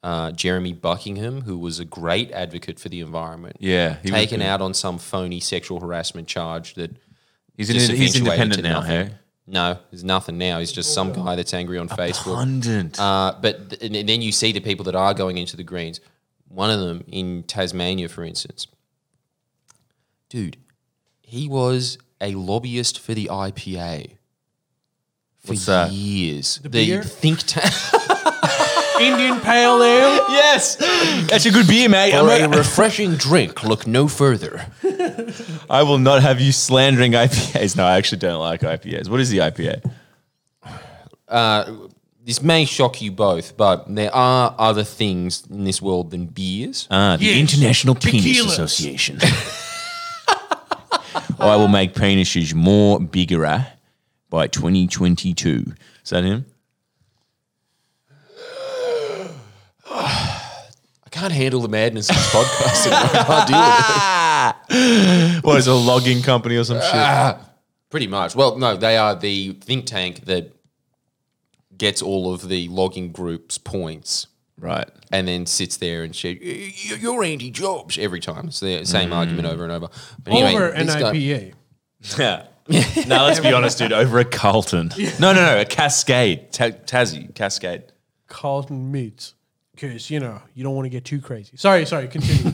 [SPEAKER 7] Jeremy Buckingham, who was a great advocate for the environment.
[SPEAKER 3] Yeah, he was
[SPEAKER 7] taken
[SPEAKER 3] good.
[SPEAKER 7] out on some phony sexual harassment charge that
[SPEAKER 3] He's
[SPEAKER 7] just eventuated
[SPEAKER 3] independent
[SPEAKER 7] to
[SPEAKER 3] now,
[SPEAKER 7] nothing.
[SPEAKER 3] hey?
[SPEAKER 7] No, there's nothing now. He's just some guy that's angry on Facebook.
[SPEAKER 3] Pundit.
[SPEAKER 7] And then you see the people that are going into the Greens. One of them in Tasmania, for instance. Dude, he was a lobbyist for the IPA for
[SPEAKER 3] What's that?
[SPEAKER 7] years.
[SPEAKER 1] The beer?
[SPEAKER 7] think tank.
[SPEAKER 1] Indian Pale Ale.
[SPEAKER 3] Yes, that's a good beer, mate.
[SPEAKER 7] For a refreshing drink, look no further.
[SPEAKER 3] I will not have you slandering IPAs. No, I actually don't like IPAs. What is the IPA?
[SPEAKER 7] This may shock you both, but there are other things in this world than beers.
[SPEAKER 3] The
[SPEAKER 1] Yes.
[SPEAKER 3] International Penis
[SPEAKER 1] Tequilas.
[SPEAKER 3] Association. I will make penises more bigger by 2022. Is that him?
[SPEAKER 7] I can't handle the madness of this podcast anymore. I can't deal with it.
[SPEAKER 3] What is it, a logging company or some shit?
[SPEAKER 7] Pretty much. Well, no, they are the think tank that gets all of the logging group's points
[SPEAKER 3] Right.
[SPEAKER 7] and then sits there and says, "You're anti-jobs" every time. It's the same argument over and over. But anyway,
[SPEAKER 1] Over an
[SPEAKER 7] this guy-
[SPEAKER 1] IPA.
[SPEAKER 3] Yeah. No, let's be honest, dude. Over a Carlton. No. A Cascade. Tassie. Cascade.
[SPEAKER 1] Carlton meats. Because, you don't want to get too crazy. Sorry, continue.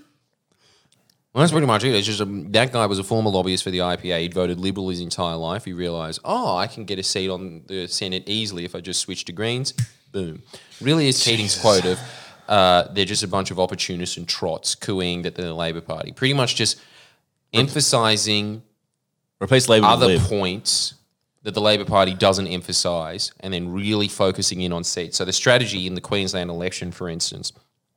[SPEAKER 7] Well, that's pretty much it. It's just that guy was a former lobbyist for the IPA. He'd voted Liberal his entire life. He realised, I can get a seat on the Senate easily if I just switch to Greens. Boom. Really is Keating's quote of, they're just a bunch of opportunists and trots cooing that they're the Labor Party. Pretty much just emphasising
[SPEAKER 3] Replace Labor with
[SPEAKER 7] other
[SPEAKER 3] Lib.
[SPEAKER 7] points that the Labor Party doesn't emphasise and then really focusing in on seats. So the strategy in the Queensland election, for instance,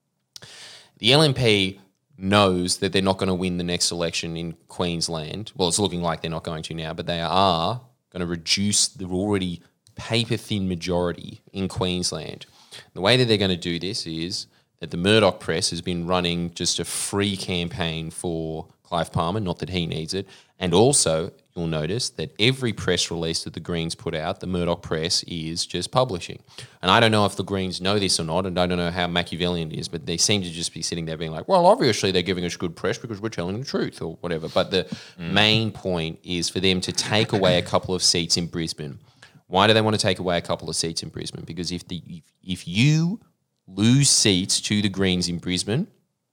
[SPEAKER 7] the LNP knows that they're not going to win the next election in Queensland. Well, it's looking like they're not going to now, but they are going to reduce the already paper-thin majority in Queensland. The way that they're going to do this is that the Murdoch press has been running just a free campaign for Clive Palmer, not that he needs it, and also you'll notice that every press release that the Greens put out, the Murdoch press is just publishing. And I don't know if the Greens know this or not, and I don't know how Machiavellian it is, but they seem to just be sitting there being like, well, obviously they're giving us good press because we're telling the truth or whatever. But the main point is for them to take away a couple of seats in Brisbane. Why do they want to take away a couple of seats in Brisbane? Because if you lose seats to the Greens in Brisbane,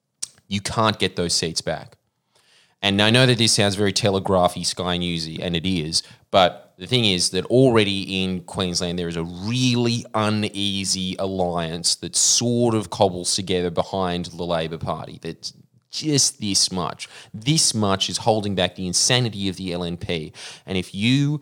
[SPEAKER 7] you can't get those seats back. And I know that this sounds very telegraphy, Sky Newsy, and it is, but the thing is that already in Queensland there is a really uneasy alliance that sort of cobbles together behind the Labor Party. That's just this much. This much is holding back the insanity of the LNP. And if you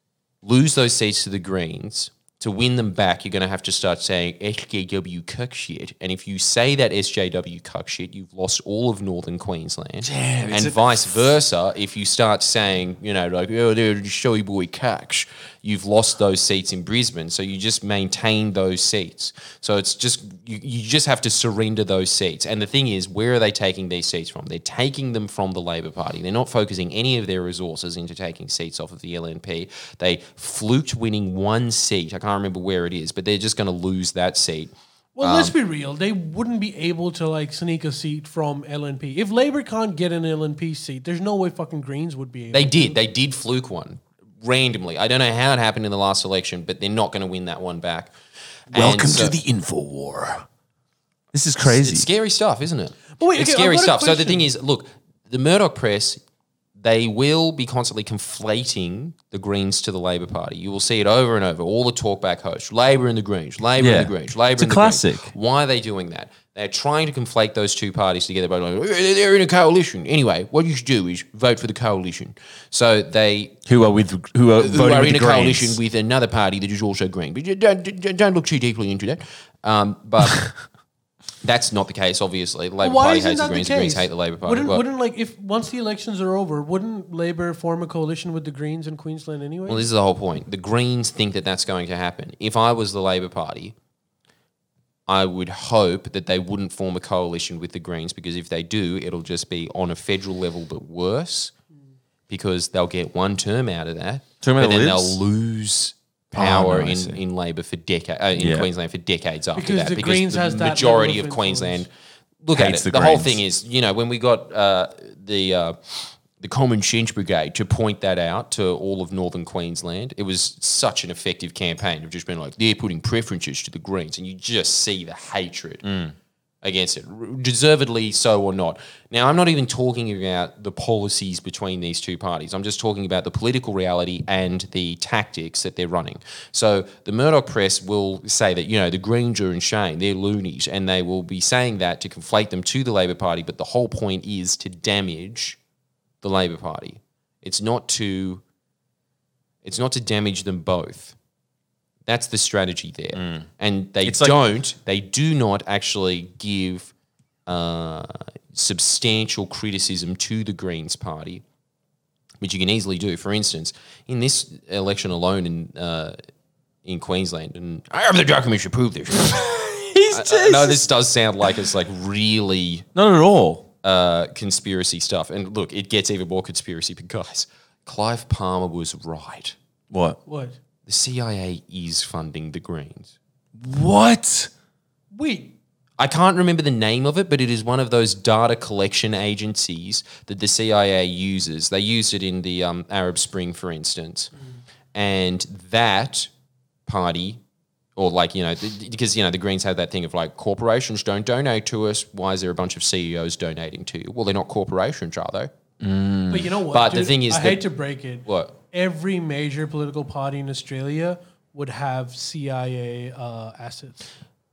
[SPEAKER 7] lose those seats to the Greens, to win them back, you're going to have to start saying SJW cuck shit. And if you say that SJW cuck shit, you've lost all of northern Queensland.
[SPEAKER 3] Damn,
[SPEAKER 7] and vice versa, if you start saying, like, oh, they're showy boy cucks, you've lost those seats in Brisbane. So you just maintain those seats. So it's just, you just have to surrender those seats. And the thing is, where are they taking these seats from? They're taking them from the Labor Party. They're not focusing any of their resources into taking seats off of the LNP. They fluked winning one seat. I can't remember where it is, but they're just going to lose that seat.
[SPEAKER 1] Well, let's be real. They wouldn't be able to sneak a seat from LNP. If Labor can't get an LNP seat, there's no way fucking Greens would be able to.
[SPEAKER 7] They did fluke one randomly. I don't know how it happened in the last election, but they're not going to win that one back.
[SPEAKER 3] Welcome to the info war. This is crazy.
[SPEAKER 7] It's scary stuff, isn't it?
[SPEAKER 1] But wait,
[SPEAKER 7] It's
[SPEAKER 1] okay,
[SPEAKER 7] scary
[SPEAKER 1] I've got a
[SPEAKER 7] stuff. So the
[SPEAKER 1] question.
[SPEAKER 7] thing is, look, the Murdoch press, they will be constantly conflating the Greens to the Labor Party. You will see it over and over. All the talkback hosts, Labor and the Greens, Labor and the Greens, Labor
[SPEAKER 3] It's a
[SPEAKER 7] and the
[SPEAKER 3] classic.
[SPEAKER 7] Greens. Why are they doing that? They're trying to conflate those two parties together by like, they're in a coalition. Anyway, what you should do is vote for the coalition. So they
[SPEAKER 3] Who are voting
[SPEAKER 7] who are
[SPEAKER 3] with
[SPEAKER 7] in
[SPEAKER 3] the
[SPEAKER 7] a
[SPEAKER 3] Greens.
[SPEAKER 7] coalition with another party that is also green. But you don't look too deeply into that. But that's not the case, obviously. The Labor
[SPEAKER 1] Why
[SPEAKER 7] Party
[SPEAKER 1] isn't
[SPEAKER 7] hates the
[SPEAKER 1] that
[SPEAKER 7] Greens,
[SPEAKER 1] the
[SPEAKER 7] the Greens
[SPEAKER 1] case?
[SPEAKER 7] hate the Labor Party.
[SPEAKER 1] Wouldn't if once the elections are over, wouldn't Labor form a coalition with the Greens in Queensland anyway?
[SPEAKER 7] Well, this is the whole point. The Greens think that that's going to happen. If I was the Labor Party, I would hope that they wouldn't form a coalition with the Greens, because if they do, it'll just be on a federal level but worse, because they'll get one term out of that,
[SPEAKER 3] Term out
[SPEAKER 7] but
[SPEAKER 3] of
[SPEAKER 7] then
[SPEAKER 3] Libs?
[SPEAKER 7] they'll lose power
[SPEAKER 3] I see.
[SPEAKER 7] in Labor for in Queensland for decades after
[SPEAKER 1] Because
[SPEAKER 7] that.
[SPEAKER 1] the Greens
[SPEAKER 7] the
[SPEAKER 1] has that
[SPEAKER 7] majority
[SPEAKER 1] level
[SPEAKER 7] of
[SPEAKER 1] of
[SPEAKER 7] Queensland
[SPEAKER 1] influence.
[SPEAKER 7] look at
[SPEAKER 3] Hates
[SPEAKER 7] it.
[SPEAKER 3] the
[SPEAKER 7] The whole
[SPEAKER 3] Greens.
[SPEAKER 7] thing is, when we got the Common Sense Brigade to point that out to all of northern Queensland, it was such an effective campaign of just being like, they're putting preferences to the Greens, and you just see the hatred against it, deservedly so or not. Now, I'm not even talking about the policies between these two parties. I'm just talking about the political reality and the tactics that they're running. So the Murdoch press will say that, the Greens are insane, they're loonies, and they will be saying that to conflate them to the Labor Party, but the whole point is to damage the Labor Party. It's not to damage them both. That's the strategy there. And they do not actually give substantial criticism to the Greens Party, which you can easily do. For instance, in this election alone in Queensland, and I have the documents to prove this. I know this does sound like it's like really
[SPEAKER 3] Not at all.
[SPEAKER 7] conspiracy stuff. And look, it gets even more conspiracy, but guys, Clive Palmer was right.
[SPEAKER 3] What?
[SPEAKER 1] What?
[SPEAKER 7] The CIA is funding the Greens.
[SPEAKER 3] What?
[SPEAKER 1] Wait.
[SPEAKER 7] I can't remember the name of it, but it is one of those data collection agencies that the CIA uses. They used it in the Arab Spring, for instance. And that party, or because, the Greens have that thing of like, corporations don't donate to us. Why is there a bunch of CEOs donating to you? Well, they're not corporations, are they?
[SPEAKER 1] But you know what?
[SPEAKER 7] But the
[SPEAKER 1] dude?
[SPEAKER 7] thing is
[SPEAKER 1] I
[SPEAKER 7] that-
[SPEAKER 1] hate to break it.
[SPEAKER 7] What?
[SPEAKER 1] Every major political party in Australia would have CIA assets.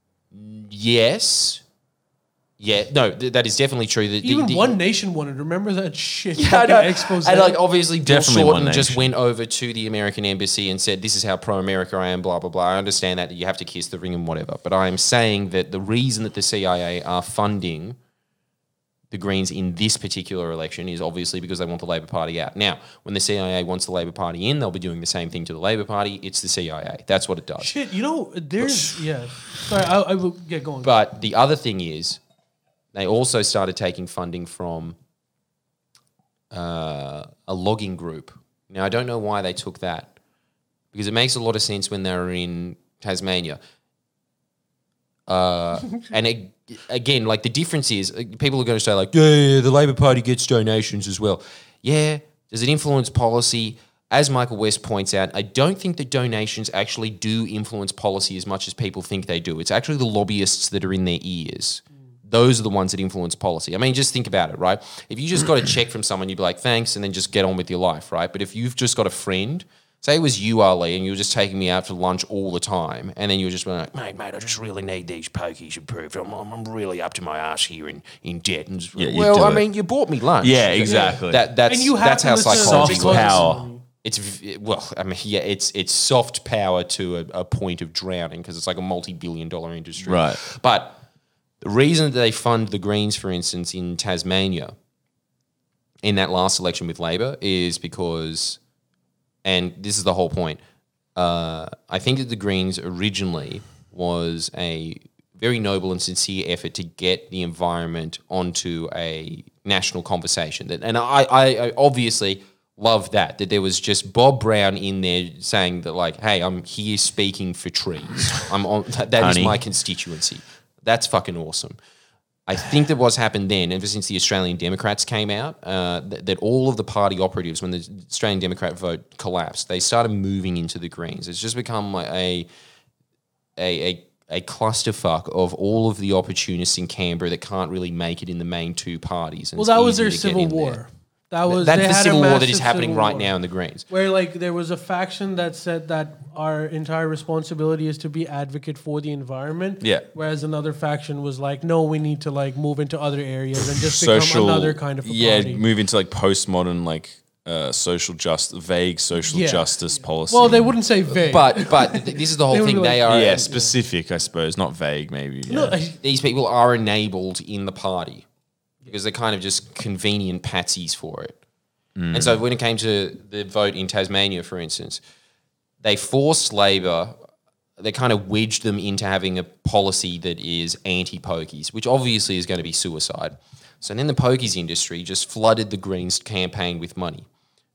[SPEAKER 7] Yes. Yeah, no, that is definitely true.
[SPEAKER 1] Even One Nation wanted. Remember that shit?
[SPEAKER 7] I
[SPEAKER 1] fucking
[SPEAKER 7] know.
[SPEAKER 1] expose.
[SPEAKER 7] And obviously, Bill
[SPEAKER 3] Definitely
[SPEAKER 7] Shorten
[SPEAKER 3] One
[SPEAKER 7] just
[SPEAKER 3] Nation.
[SPEAKER 7] went over to the American embassy and said, "This is how pro-America I am." Blah blah blah. I understand that you have to kiss the ring and whatever, but I am saying that the reason that the CIA are funding the Greens in this particular election is obviously because they want the Labor Party out. Now, when the CIA wants the Labor Party in, they'll be doing the same thing to the Labor Party. It's the CIA. That's what it does.
[SPEAKER 1] Shit, there's Sorry, I will get going.
[SPEAKER 7] But the other thing is, they also started taking funding from a logging group. Now, I don't know why they took that, because it makes a lot of sense when they were in Tasmania. Again, like the difference is, people are going to say like, yeah, the Labor Party gets donations as well. Yeah, does it influence policy? As Michael West points out, I don't think that donations actually do influence policy as much as people think they do. It's actually the lobbyists that are in their ears. Those are the ones that influence policy. I mean, just think about it, right? If you just got a check from someone, you'd be like, thanks, and then just get on with your life, right? But if you've just got a friend, say it was you, Ali, and you were just taking me out for lunch all the time, and then you were just like, mate, I just really need these pokies improved. I'm really up to my ass here in debt. And
[SPEAKER 3] Yeah, you
[SPEAKER 7] well,
[SPEAKER 3] do
[SPEAKER 7] I
[SPEAKER 3] it.
[SPEAKER 7] mean, you bought me lunch.
[SPEAKER 3] Yeah, exactly.
[SPEAKER 7] That's
[SPEAKER 1] and you have
[SPEAKER 7] that's
[SPEAKER 1] to
[SPEAKER 7] how
[SPEAKER 1] listen to
[SPEAKER 7] psychology
[SPEAKER 3] Soft
[SPEAKER 1] because-
[SPEAKER 3] power.
[SPEAKER 7] It's soft power to a point of drowning, because it's like a multi-billion-dollar industry.
[SPEAKER 3] Right.
[SPEAKER 7] But the reason that they fund the Greens, for instance, in Tasmania, in that last election with Labor, is because, and this is the whole point, I think that the Greens originally was a very noble and sincere effort to get the environment onto a national conversation. And I obviously love that there was just Bob Brown in there saying that, like, hey, I'm here speaking for trees. I'm on that is
[SPEAKER 3] Honey.
[SPEAKER 7] my constituency. That's fucking awesome. I think that what's happened then, ever since the Australian Democrats came out, that all of the party operatives, when the Australian Democrat vote collapsed, they started moving into the Greens. It's just become like a clusterfuck of all of the opportunists in Canberra that can't really make it in the main two parties. And
[SPEAKER 1] well,
[SPEAKER 7] it's
[SPEAKER 1] that was
[SPEAKER 7] easier
[SPEAKER 1] their
[SPEAKER 7] to get
[SPEAKER 1] civil
[SPEAKER 7] in there.
[SPEAKER 1] war. That's
[SPEAKER 7] That's the civil war that is happening right now in the Greens.
[SPEAKER 1] Where like there was a faction that said that our entire responsibility is to be advocate for the environment.
[SPEAKER 3] Yeah.
[SPEAKER 1] Whereas another faction was like, no, we need to like move into other areas and just become another kind of a party.
[SPEAKER 3] move into like postmodern, like vague social
[SPEAKER 1] Yeah.
[SPEAKER 3] justice policy.
[SPEAKER 1] Well, they wouldn't say vague.
[SPEAKER 7] But this is the whole
[SPEAKER 1] They would
[SPEAKER 7] thing.
[SPEAKER 1] be
[SPEAKER 7] They
[SPEAKER 1] like-
[SPEAKER 7] are
[SPEAKER 3] yeah, specific, I suppose, not vague, maybe. Yeah.
[SPEAKER 1] No,
[SPEAKER 7] these people are enabled in the party because they're kind of just convenient patsies for it. And so when it came to the vote in Tasmania, for instance, they forced Labor, they kind of wedged them into having a policy that is anti-pokies, which obviously is going to be suicide. So then the pokies industry just flooded the Greens campaign with money.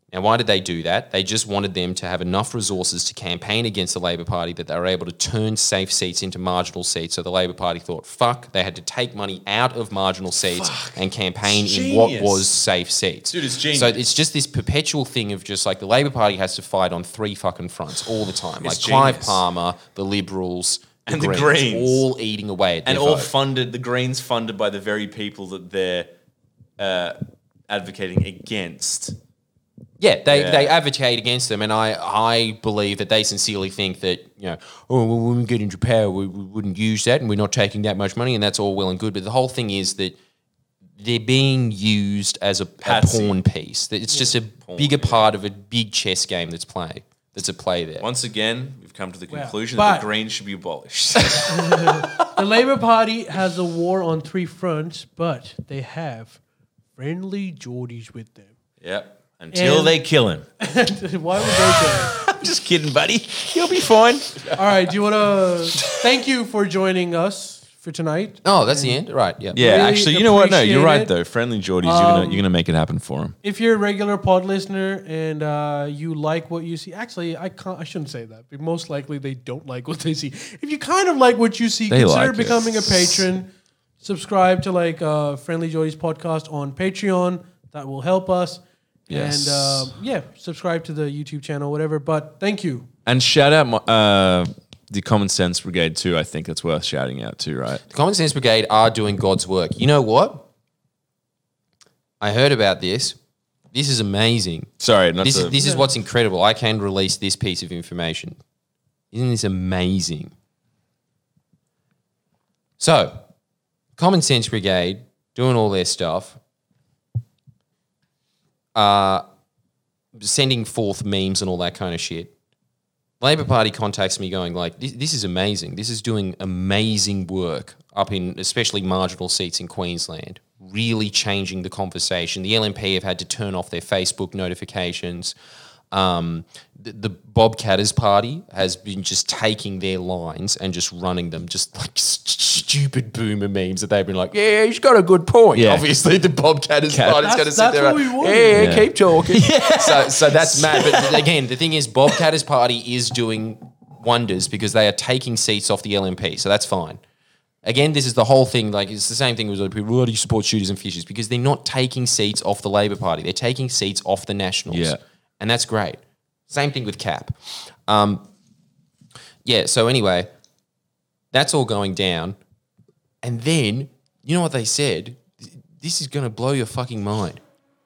[SPEAKER 7] Now, why did they do that? They just wanted them to have enough resources to campaign against the Labor Party that they were able to turn safe seats into marginal seats. So the Labor Party thought, fuck, they had to take money out of marginal seats and campaign in what was safe seats.
[SPEAKER 3] Dude, it's genius.
[SPEAKER 7] So it's just this perpetual thing of just like the Labor Party has to fight on 3 fucking fronts all the time. Like Clive
[SPEAKER 3] genius.
[SPEAKER 7] Palmer, the Liberals,
[SPEAKER 3] And the Greens.
[SPEAKER 7] all eating away at their
[SPEAKER 3] And all
[SPEAKER 7] vote.
[SPEAKER 3] funded, the Greens funded by the very people that they're advocating against.
[SPEAKER 7] Yeah, they advocate against them, and I believe that they sincerely think that, when we get into power, we wouldn't use that, and we're not taking that much money, and that's all well and good. But the whole thing is that they're being used as a pawn piece. That it's just a bigger part of a big chess game that's at play there.
[SPEAKER 3] Once again, we've come to the conclusion
[SPEAKER 1] But-
[SPEAKER 3] that the Greens should be abolished.
[SPEAKER 1] The Labour Party has a war on 3 fronts, but they have friendly Geordies with them.
[SPEAKER 3] Yep. Until
[SPEAKER 1] And-
[SPEAKER 3] they kill him.
[SPEAKER 1] Why would they do
[SPEAKER 3] I'm just kidding, buddy. He'll be fine.
[SPEAKER 1] that? All right, do you want to... Thank you for joining us for tonight.
[SPEAKER 7] Oh, that's the end? Right, yeah.
[SPEAKER 3] Yeah,
[SPEAKER 1] Really
[SPEAKER 3] actually, you know what? No, you're
[SPEAKER 1] appreciate
[SPEAKER 3] right
[SPEAKER 1] it.
[SPEAKER 3] though. Friendly Geordies, you're gonna make it happen for him.
[SPEAKER 1] If you're a regular pod listener and you like what you see, actually, I shouldn't say that. But most likely, they don't like what they see. If you kind of like what you see,
[SPEAKER 3] They
[SPEAKER 1] consider
[SPEAKER 3] like it.
[SPEAKER 1] becoming a patron. Subscribe to Friendly Geordies podcast on Patreon. That will help us.
[SPEAKER 3] Yes.
[SPEAKER 1] And subscribe to the YouTube channel, whatever. But thank you.
[SPEAKER 3] And shout out the Common Sense Brigade too. I think that's worth shouting out too, right?
[SPEAKER 7] The Common Sense Brigade are doing God's work. You know what? I heard about this. This is amazing.
[SPEAKER 3] Sorry, not
[SPEAKER 7] This
[SPEAKER 3] to.
[SPEAKER 7] is what's incredible. I can release this piece of information. Isn't this amazing? So, Common Sense Brigade doing all their stuff, sending forth memes and all that kind of shit. Labor Party contacts me going like, this is amazing. This is doing amazing work up in especially marginal seats in Queensland, really changing the conversation. The LNP have had to turn off their Facebook notifications. The Bob Katter's party has been just taking their lines and just running them, just like stupid boomer memes that they've been like, yeah, he's got a good point.
[SPEAKER 3] Yeah.
[SPEAKER 7] Obviously, the Bob Katter's party's going to sit
[SPEAKER 1] That's
[SPEAKER 7] there
[SPEAKER 1] what
[SPEAKER 7] and,
[SPEAKER 1] we want.
[SPEAKER 7] yeah, keep talking. So that's mad. But again, the thing is, Bob Katter's party is doing wonders because they are taking seats off the LNP. So that's fine. Again, this is the whole thing. Like, it's the same thing with people. Why do you support shooters and fishers? Because they're not taking seats off the Labor Party. They're taking seats off the Nationals.
[SPEAKER 3] Yeah.
[SPEAKER 7] And that's great. Same thing with Cap. So anyway, that's all going down. And then, you know what they said? This is going to blow your fucking mind.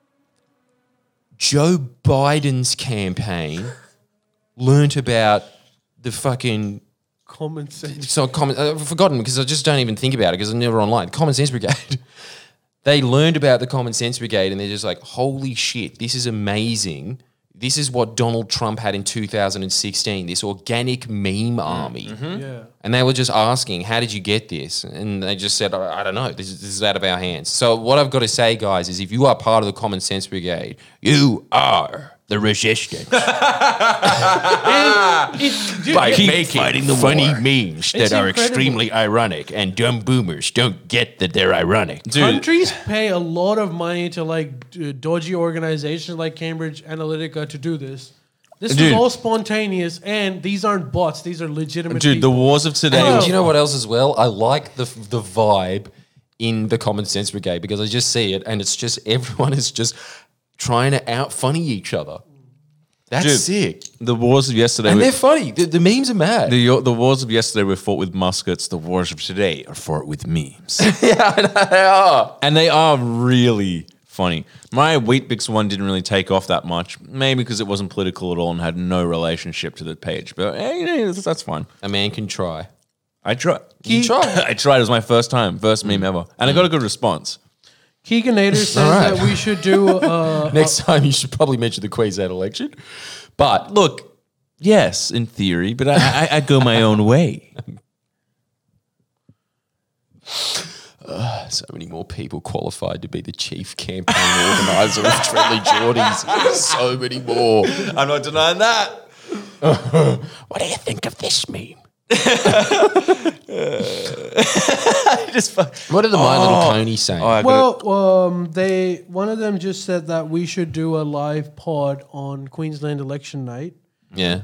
[SPEAKER 7] Joe Biden's campaign learnt about the fucking...
[SPEAKER 1] Common sense.
[SPEAKER 7] So I've forgotten because I just don't even think about it because I'm never online. Common Sense Brigade. They learned about the Common Sense Brigade and they're just like, holy shit, this is amazing. This is what Donald Trump had in 2016, this organic meme army.
[SPEAKER 1] Yeah.
[SPEAKER 7] And they were just asking, how did you get this? And they just said, I don't know, this is out of our hands. So what I've got to say, guys, is if you are part of the Common Sense Brigade, you are the resistance. By making funny memes that are
[SPEAKER 1] incredible.
[SPEAKER 7] extremely ironic and dumb boomers don't get that they're ironic.
[SPEAKER 1] Countries pay a lot of money to dodgy organizations like Cambridge Analytica to do this. This
[SPEAKER 3] Dude.
[SPEAKER 1] was all spontaneous, and these aren't bots. These are legitimate
[SPEAKER 3] Dude, the
[SPEAKER 1] people.
[SPEAKER 3] wars of today.
[SPEAKER 7] And do you know what else as well? I like the vibe in the Common Sense Brigade because I just see it and it's just everyone is just trying to out funny each other. That's
[SPEAKER 3] Dude,
[SPEAKER 7] sick.
[SPEAKER 3] The wars of yesterday.
[SPEAKER 7] And they're funny. The memes are mad.
[SPEAKER 3] The wars of yesterday were fought with muskets. The wars of today are fought with memes.
[SPEAKER 7] Yeah, they are.
[SPEAKER 3] And they are really funny. My Weet-Bix one didn't really take off that much, maybe because it wasn't political at all and had no relationship to the page. But that's fine.
[SPEAKER 7] A man can try.
[SPEAKER 3] I tried.
[SPEAKER 7] You tried.
[SPEAKER 3] I tried. It was my first meme ever, and I got a good response.
[SPEAKER 1] Keeganator says
[SPEAKER 7] right.
[SPEAKER 1] that we should do.
[SPEAKER 7] Next time you should probably mention the Queensland election. But
[SPEAKER 3] Look, yes, in theory, but I go my own way.
[SPEAKER 7] so many more people qualified to be the chief campaign organizer of Friendly Geordies. So many more.
[SPEAKER 3] I'm not denying that.
[SPEAKER 7] What do you think of this meme? What did the My Little Pony say?
[SPEAKER 1] One of them just said that we should do a live pod on Queensland election night.
[SPEAKER 7] Yeah.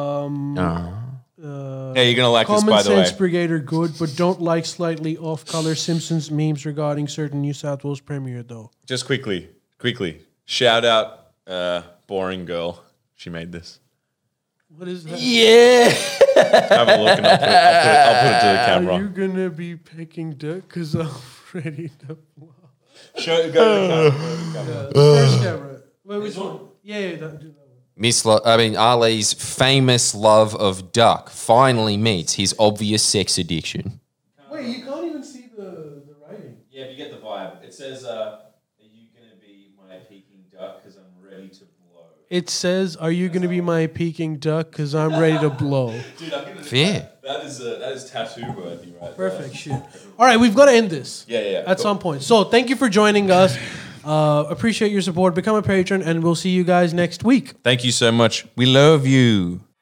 [SPEAKER 3] Hey, you're gonna like this,
[SPEAKER 1] Common
[SPEAKER 3] by the way.
[SPEAKER 1] Sense Brigade are good, but don't like slightly off-color Simpsons memes regarding certain New South Wales Premier, though.
[SPEAKER 3] Just quickly. Shout out, Boring Girl. She made this.
[SPEAKER 1] What is that?
[SPEAKER 7] Yeah.
[SPEAKER 3] Have a look and I'll put it to the camera.
[SPEAKER 1] Are you gonna be picking dick? Cause I'm ready to blow.
[SPEAKER 3] Go to the camera.
[SPEAKER 1] First camera. Wait, which one? Yeah, do that one.
[SPEAKER 7] Ali's famous love of duck finally meets his obvious sex addiction.
[SPEAKER 1] Wait, you can't even see the writing.
[SPEAKER 3] Yeah, if you get the vibe. It says, are you going to be my peking duck because I'm ready to blow?
[SPEAKER 1] It says, "Are you gonna be my peking duck? Cause I'm ready to blow."
[SPEAKER 3] Dude, I'm going to...
[SPEAKER 7] Fair.
[SPEAKER 3] That is tattoo worthy right
[SPEAKER 1] Perfect shit. All right, we've got to end this.
[SPEAKER 3] Yeah.
[SPEAKER 1] At some point. So thank you for joining us. Appreciate your support. Become a patron, and we'll see you guys next week.
[SPEAKER 3] Thank you so much. We love you.